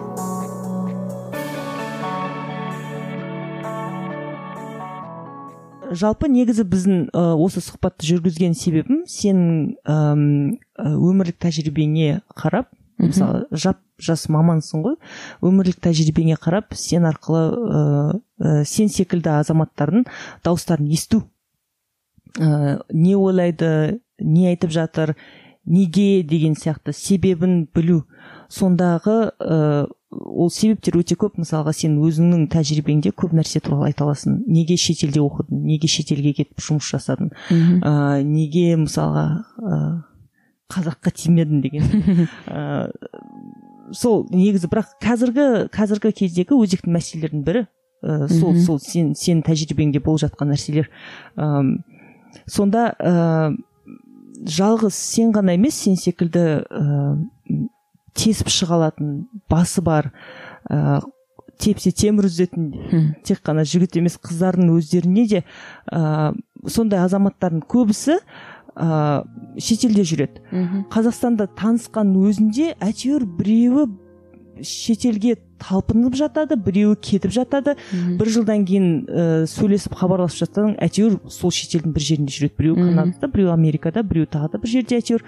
Жалпы негізі біздің осы сұхбатты жүргізген себебім сенің өмірлік тәжірибеңе қарап, мысалы жас мамансың ғой, өмірлік тәжірибеңе қарап, сен арқылы сен секілді азаматтардың дауыстарын есту. Не ойлайды, не айтып жатыр, неге деген сияқты себебін білу. Сондағы ол себептер өте көп. Мысалға сен өзіңнің тәжірибеңде көп нәрсе туралы айта аласың. Неге шетелде оқыдың, неге шетелге кетіп жұмыс жасадың, неге мысалға қазаққа тимедің деген. Сол негізі, бірақ қазіргі кездегі өзекті мәселелердің бірі сол сен тәжірибеңде болып жатқан нәрселер. Сонда жалғыз сен ғана емес, сен секілді тесіп шыға алатын, басы бар, тепсе темір үзетін тек қана жігіт емес, қыздардың өздеріне де сондай азаматтардың көбісі шетелде жүреді. Қазақстанда танысқан өзінде әйтеуір біреуі шетелге талпынып жатады, біреуі кетіп жатады. Бір жылдан кейін сөйлесіп хабарласып жатсаң, әйтеуір сол шетелдің бір жерінде жүреді. Біреуі Канадада, біреуі Америкада, біреуі тағы да бір жерде әйтеуір.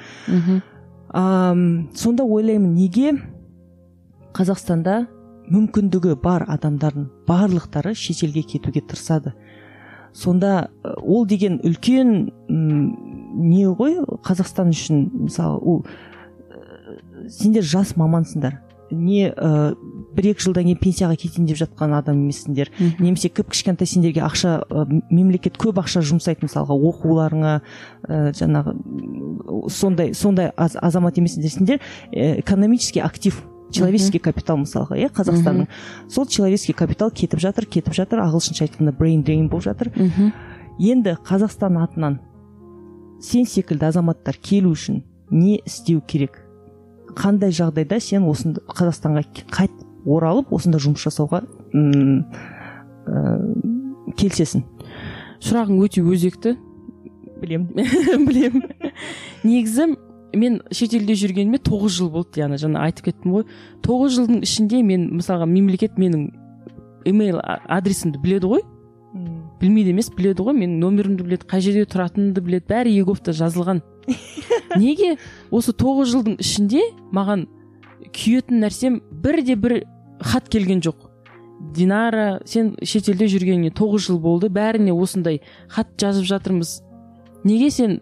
Сонда ойлаймын, неге Қазақстанда мүмкіндігі бар адамдардың барлықтары шетелге кетуге тырысады? Сонда ол деген үлкен не ғой Қазақстан үшін? Мысалы, сендер жас мамансыңдар. Не бір-екі жылдан кейін пенсияға кетейін деп жатқан адам емессіңдер. Немесе кішкентай сендерге ақша, мемлекет көп ақша жұмсайды, мысалға оқуларыңа, жаңағы сондай азамат емессіңдер. Сендер экономический актив, человеческий капитал, мысалға, Қазақстанның. Сол человеческий капитал кетіп жатыр, ағылшынша айтқанда brain drain болып жатыр. Енді Қазақстан атынан сен секілді азаматтар келу үшін не істеу керек? Қандай жағдайда сен осында Қазақстанға қайтып оралып, осында жұмыс жасауға келсесің? Сұрағың өте өзекті. Білем. Негізі мен шетелде жүргеніме 9 жыл болды, жаңа айтып кеттім ғой. 9 жылдың ішінде мен, мысалға, мемлекет менің емейл адресімді біледі ғой. Білмейді емес, біледі ғой. Менің номерімді біледі, қай жерде тұратынымды біледі, бәрі Еговта жазылған. Неге осы 9 жылдың ішінде маған күйетін нәрсем бір хат келген жоқ? Динара, сен шетелде жүргеніне 9 жыл болды, бәріне осындай хат жазып жатырмыз. Неге сен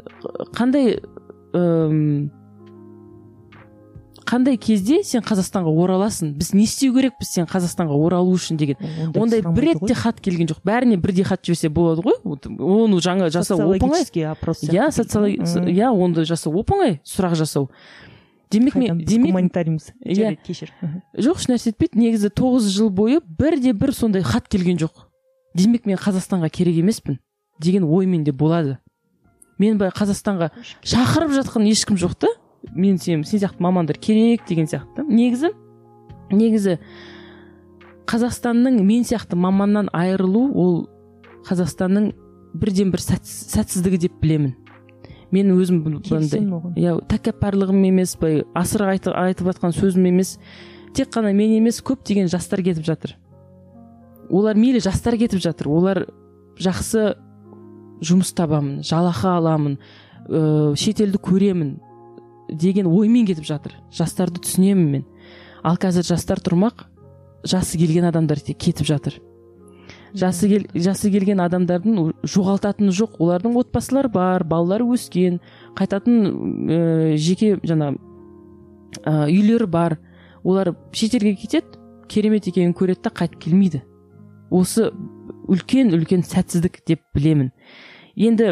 қандай кезде сен Қазақстанға ораласың? Біз не істеу керекпіз сен Қазақстанға оралу үшін деген. Ондай бір ретте хат келген жоқ. Бәріне бірдей хат жіберсе болады ғой. Оны жаңа жасау оп-оңай. Онда жасау оп-оңай, сұрақ жасау. демек гуманитарийміз. Иә, кешір. Жоқ, еш нәрсе етпейді. Негізі 9 жыл бойы бір сондай хат келген жоқ. Демек мен Қазақстанға керек емеспін деген оймен де болады. Мен Қазақстанға шақырып жатқан ешкім жоқ та. Мен сен сияқты мамандар керек деген сияқты. Негізі Қазақстанның мен сияқты маманнан айырылу ол Қазақстанның бірден бір сәтсіздігі деп білемін. Мен өзім тәкаппарлығым емес, асыра айтып жатқан сөзім емес. Тек қана мен емес, көптеген жастар кетіп жатыр. Олар мейлі жастар кетіп жатыр. Олар жақсы жұмыс табамын, жалақы аламын, шетелді көремін деген оймен кетіп жатыр. Жастарды түсінемін мен. Ал қазір жастар тұрмақ, жасы келген адамдар кетіп жатыр. Жасы келген адамдардың жоғалтатыны жоқ. Олардың отбасылар бар, балалары өскен, қайтатын жеке үйлері бар. Олар шетелге кетеді, керемет екенін көреді да қайтып келмейді. Осы үлкен сәтсіздік деп білемін. Енді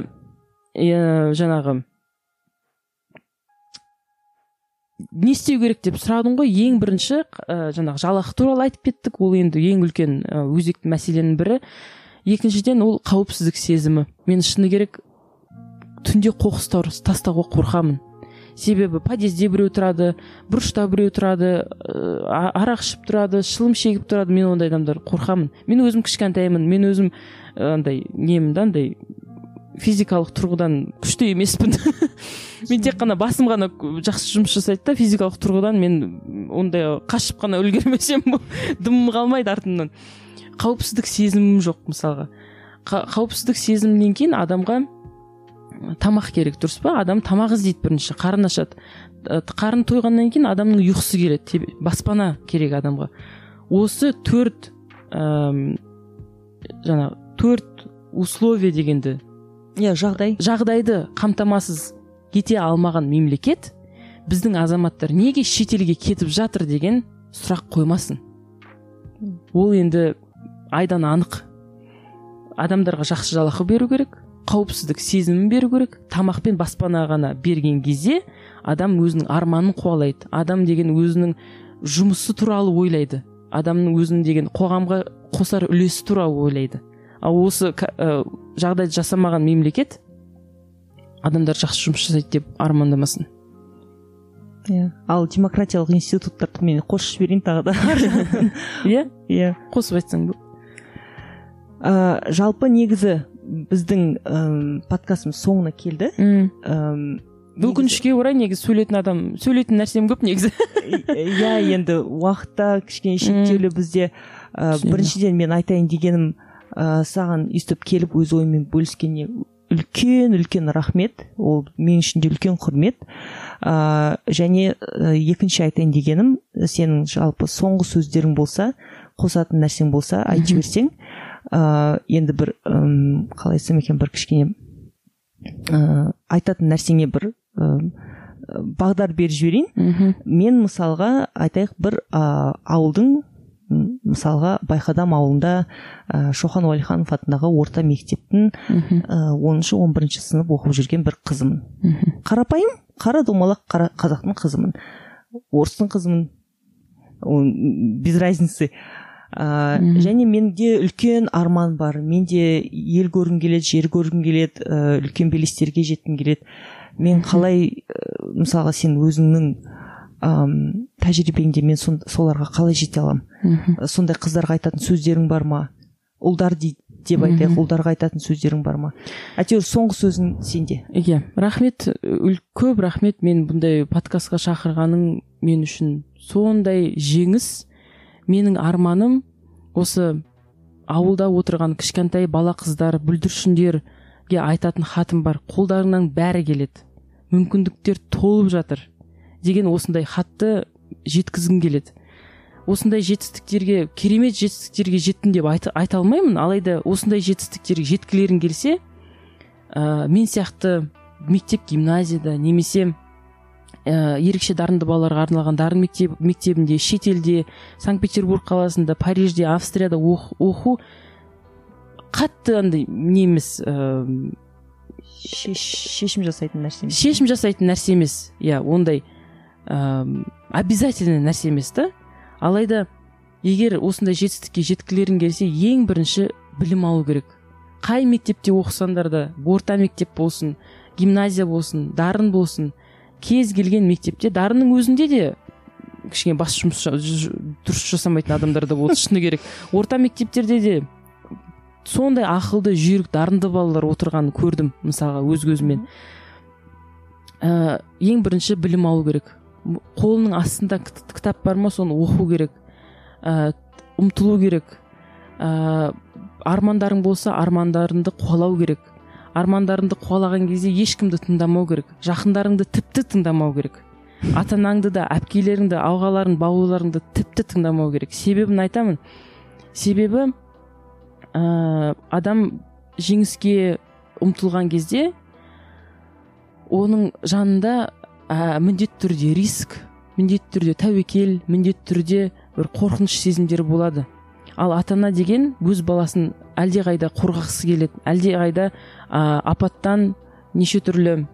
не істеу керек деп сұрадың ғой. Ең бірінші жалақы туралы айтып кеттік. Ол енді ең үлкен өзекті мәселенің бірі. Екіншіден ол қауіпсіздік сезімі. Мен шыны керек түнде қоқыс тастауға қорқамын. Себебі подъезде біреу тұрады, бұрышта біреу тұрады, арақ ішіп тұрады, шылым шегіп тұрады. Мен ондай адамдар қорқамын. Мен өзім кішкентаймын. Мен өзім физикалық тұрғыдан күшті емеспін. Мен тек қана басым ғана жақсы жұмыс жасайды да, физикалық тұрғыдан мен ондай қашып қана үлгермесем дымым қалмайды артымнан. Қауіпсіздік сезімім жоқ мысалға. Қауіпсіздік сезімнен кейін адамға тамақ керек, дұрыс па? Адам тамақ іздейді бірінші, қарын ашады. Қарын тойғаннан кейін адамның ұйқысы келеді, баспана керек адамға. Осы төрт условия дегенді, жағдайды қамтамасыз ете алмаған мемлекет біздің азаматтар неге шетелге кетіп жатыр деген сұрақ қоймасын. Ол енді айдан анық. Адамдарға жақсы жалақы беру керек, қауіпсіздік сезімін беру керек. Тамақ пен баспана ғана берген кезде адам өзінің арманын қуалайды. Адам деген өзінің жұмысы туралы ойлайды. Адамның өзінің деген қоғамға қосар үлесі туралы ойлайды. Ал осы жағдайды жасамаған мемлекет адамдар жақсы жұмыс жасайды деп армандамасын. Ал демократиялық институттарды мен қосып жіберейін тағы да. Иә, қосып айтсаң бұл. Жалпы негізі біздің подкастымыз соңына келді. Өкінішке орай негізі сөйлейтін нәрсем көп негізі. Иә, енді уақытта кішкене шектеулі бізде. Біріншіден мен айтайын дегенім, саған өйстіп келіп өз ойымен бөліскеніне үлкен рахмет. Ол мен үшін де үлкен құрмет. Және екінші айтайын дегенім, сенің жалпы соңғы сөздерің болса, қосатын нәрсең болса айтып жіберсең, енді бір қалай айтсам екен, бір кішкене айтатын нәрсеңе бір бағдар беріп жіберейін. Мен мысалға айтайық, бір ауылдың, мысалға Байқадам ауылында Шоқан Уәлиханов атындағы орта мектептің 10-11 сынып оқып жүрген бір қызымын. Қарапайым, қара домалақ қазақтың қызымын. Орыстың қызымын. Без разницы. Және менде үлкен арман бар. Менде ел көргім келеді, жер көргім келеді, үлкен белестерге жеткім келеді. Мен қалай, мысалға сен өзіңнің тәжірибеңде мен соларға қалай жете аламын? Сондай қыздарға айтатын сөздерің бар ма? Ұлдар деп айтайық, ұлдарға айтатын сөздерің бар ма? Әйтеуір соңғы сөзің сенде. Иә, рахмет, көп рахмет. Мен бұндай подкастқа шақырғаның мен үшін сондай жеңіс. Менің арманым осы ауылда отырған кішкентай бала қыздар, бүлдіршіндерге айтатын хатым бар. Қолдарыңнан бәрі келеді. Мүмкіндіктер толып жатыр деген осындай хатты жеткізгім келеді. Осындай жетістіктерге, керемет жетістіктерге жеттім деп айта алмаймын. Алайда осындай жетістіктерге жеткілерің келсе, мен сияқты мектеп, гимназияда немесе ерекше дарынды балаларға арналған дарын мектебінде, шетелде, Санкт-Петербург қаласында, Парижде, Австрияда оқу қатты немес шешім жасайтын нәрсе емес. Шешім жасайтын нәрсе емес. Иә, ондай обязательный нәрсе емес та. Алайда егер осындай жетістікке жеткілерің келсе, ең бірінші білім алу керек. Қай мектепте оқысаңдар да, орта мектеп болсын, гимназия болсын, дарын болсын, кез келген мектепте, дарынның өзінде де кішкене бас жұмыс дұрыс жасамайтын адамдар да болды, шыны керек. Орта мектептерде де сондай ақылды, жүйрік, дарынды балалар отырғанын көрдім, мысалға өз көзіммен. Ең бірінші білім алу керек. Қолының астында кітап бар ма, соны оқу керек, ұмтылу керек. Армандарың болса, армандарыңды қуалау керек. Армандарыңды қуалаған кезде ешкімді тыңдамау керек. Жақындарыңды тіпті тыңдамау керек. Ата-анаңды да, әпкелеріңді, ағаларың, бауырларыңды тіпті тыңдамау керек. Себебін айтамын. Себебі адам жеңіске ұмтылған кезде оның жанында міндетті түрде риск, міндетті түрде тәуекел, міндетті түрде бір қорқыныш сезімдері болады. Ал ата-ана деген өз баласын әлдеқайда қорғақсы келеді, әлдеқайда апаттан, неше түрлі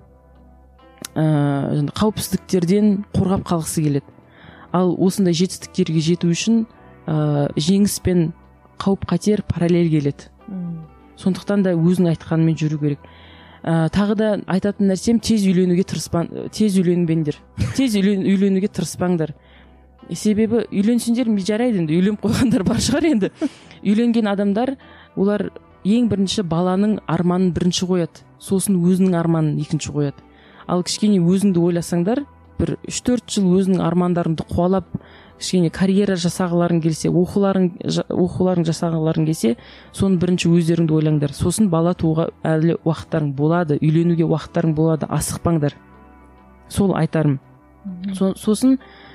қауіпсіздіктерден қорғап қалғысы келеді. Ал осындай жетістіктерге жету үшін жеңіс пен қауіп қатер параллель келеді. Сондықтан да өзің айтқанымен жүру керек. Тағы да айтатын нәрсем, тез үйленуге үйленбеңдер. Тез үйленуге тырыспаңдар. Себебі үйленсеңдер жарайды, енді үйленіп қойғандар бар шығар енді. Үйленген адамдар, олар ең бірінші баланың арманын бірінші қояды, сосын өзінің арманын екінші қояды. Ал кішкене өзіңді ойласаңдар, бір 3-4 жыл өзінің армандарыңды қуалап, кішкене карьера жасағыларың келсе, оқуларың жасағыларың келсе, соны бірінші өздеріңді ойлаңдар. Сосын бала тууға әлі уақыттарың болады, үйленуге уақыттарың болады, асықпаңдар. Сол айтарым. Сосын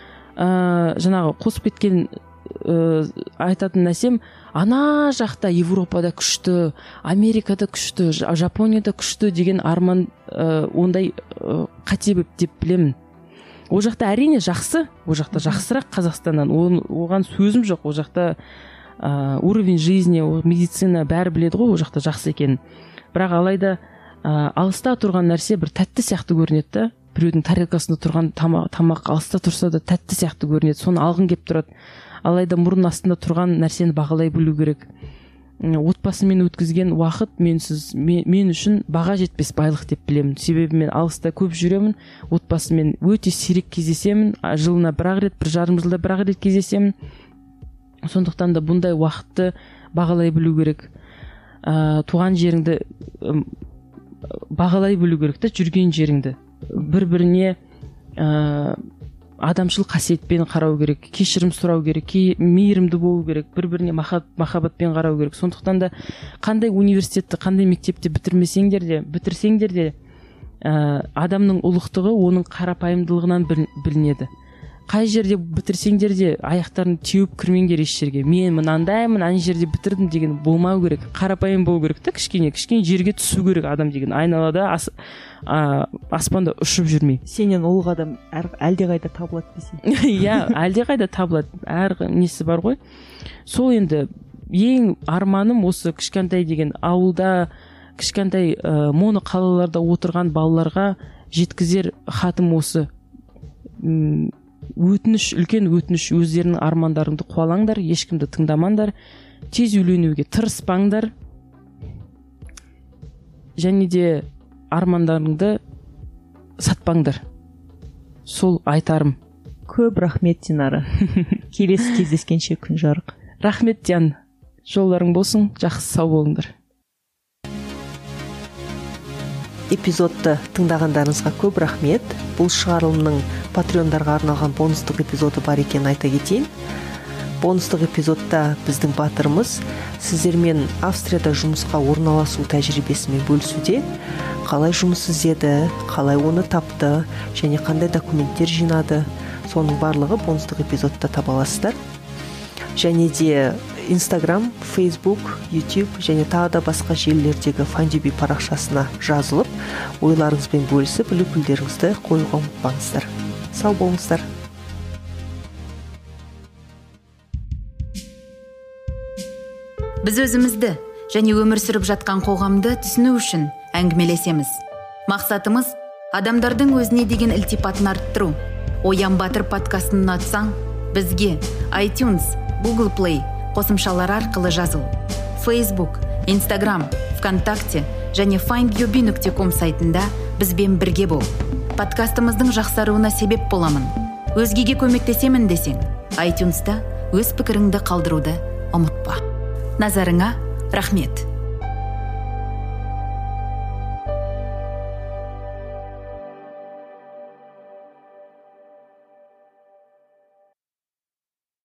жаңағы қосып кеткен айтатын нәрсем, ана жақта Европада күшті, Америкада күшті, Жапонияда күшті деген арман ондай қате деп білемін. О жақта әрине жақсы, о жақта жақсырақ Қазақстаннан, оған сөзім жоқ. О жақта уровень жизни, медицина бәрі біледі ғой, о жақта жақсы екенін. Бірақ алайда алыста тұрған нәрсе бір тәтті сияқты көрінеді да. Біреудің тарелкасында тұрған тамақ алыста тұрса да тәтті сияқты көрінеді, соны алғың келіп тұрады. Алайда мұрын астында тұрған нәрсені бағалай білу керек. Отбасымен өткізген уақыт мен үшін баға жетпес байлық деп білемін. Себебі мен алыста көп жүремін, отбасымен өте сирек кездесемін, жылына бір-ақ рет, 1,5 жылда бір-ақ рет кездесемін. Сондықтан да бұндай уақытты бағалай білу керек. Туған жеріңді бағалай білу керек та, жүрген жеріңді. Бір-біріне адамшыл қасиетпен қарау керек, кешірім сұрау керек, мейірімді болу керек, бір-біріне махаббатпен қарау керек. Сондықтан да қандай университетті, қандай мектепті бітірсеңдер де адамның ұлықтығы оның қарапайымдылығынан білінеді. Қай жерде бітірсеңдер де аяқтарын теуіп кірмеңдер еш жерге. Мен мынандаймын, ана жерде бітірдім деген болмау керек. Қарапайым болу керек та, кішкене жерге түсу керек адам деген. Айналада аспанда ұшып жүрмей. Сенен ұлық адам әлдеқайда табылады десең. Иә, әлдеқайда табылады. Әр несі бар ғой. Сол енді ең арманым осы кішкентай деген ауылда, кішкентай моно қалаларда отырған балаларға жеткізер хатым осы. Үлкен өтініш, өздерінің армандарыңды қуалаңдар, ешкімді тыңдамаңдар, тез үйленуге тырыспаңдар, және де армандарыңды сатпаңдар. Сол айтарым. Көп рахмет, Динара. Келесі кездескенше күн жарық. Рахмет, Диан. Жолдарың болсын, жақсы сау болыңдар. Эпизодты тыңдағандарыңызға көп рахмет. Бұл шығарылымның патреондарға арналған бонустық эпизоды бар екенін айта кетейін. Бонустық эпизодта біздің батырымыз сіздермен Австрияда жұмысқа орналасу тәжірибесімен бөлісуде. Қалай жұмыс іздеді, қалай оны тапты, және қандай документтер жинады, соның барлығы бонустық эпизодта таба аласыздар. Және де Instagram, Facebook, YouTube және тағы да басқа желілердегі Fundibi парақшасына жазылып, ойларыңызбен бөлісіп, үлгілеріңізді қоюға ұмытпаңыздар. Сау болыңыздар. Біз өзімізді және өмір сүріп жатқан қоғамды түсіну үшін әңгімелесеміз. Мақсатымыз адамдардың өзіне деген ілтипатын арттыру, Оян Батыр подкастын ұнатсаң, бізге iTunes, Google Play қосымшалар арқылы жазыл. Facebook, Instagram, ВКонтакте және findyoubi.com сайтында бізбен бірге бол. Подкастымыздың жақсаруына себеп боламын. Өзгеге көмектесемін десең, iTunes'та өз пікіріңді қалдыруды ұмытпа. Назарыңа рахмет.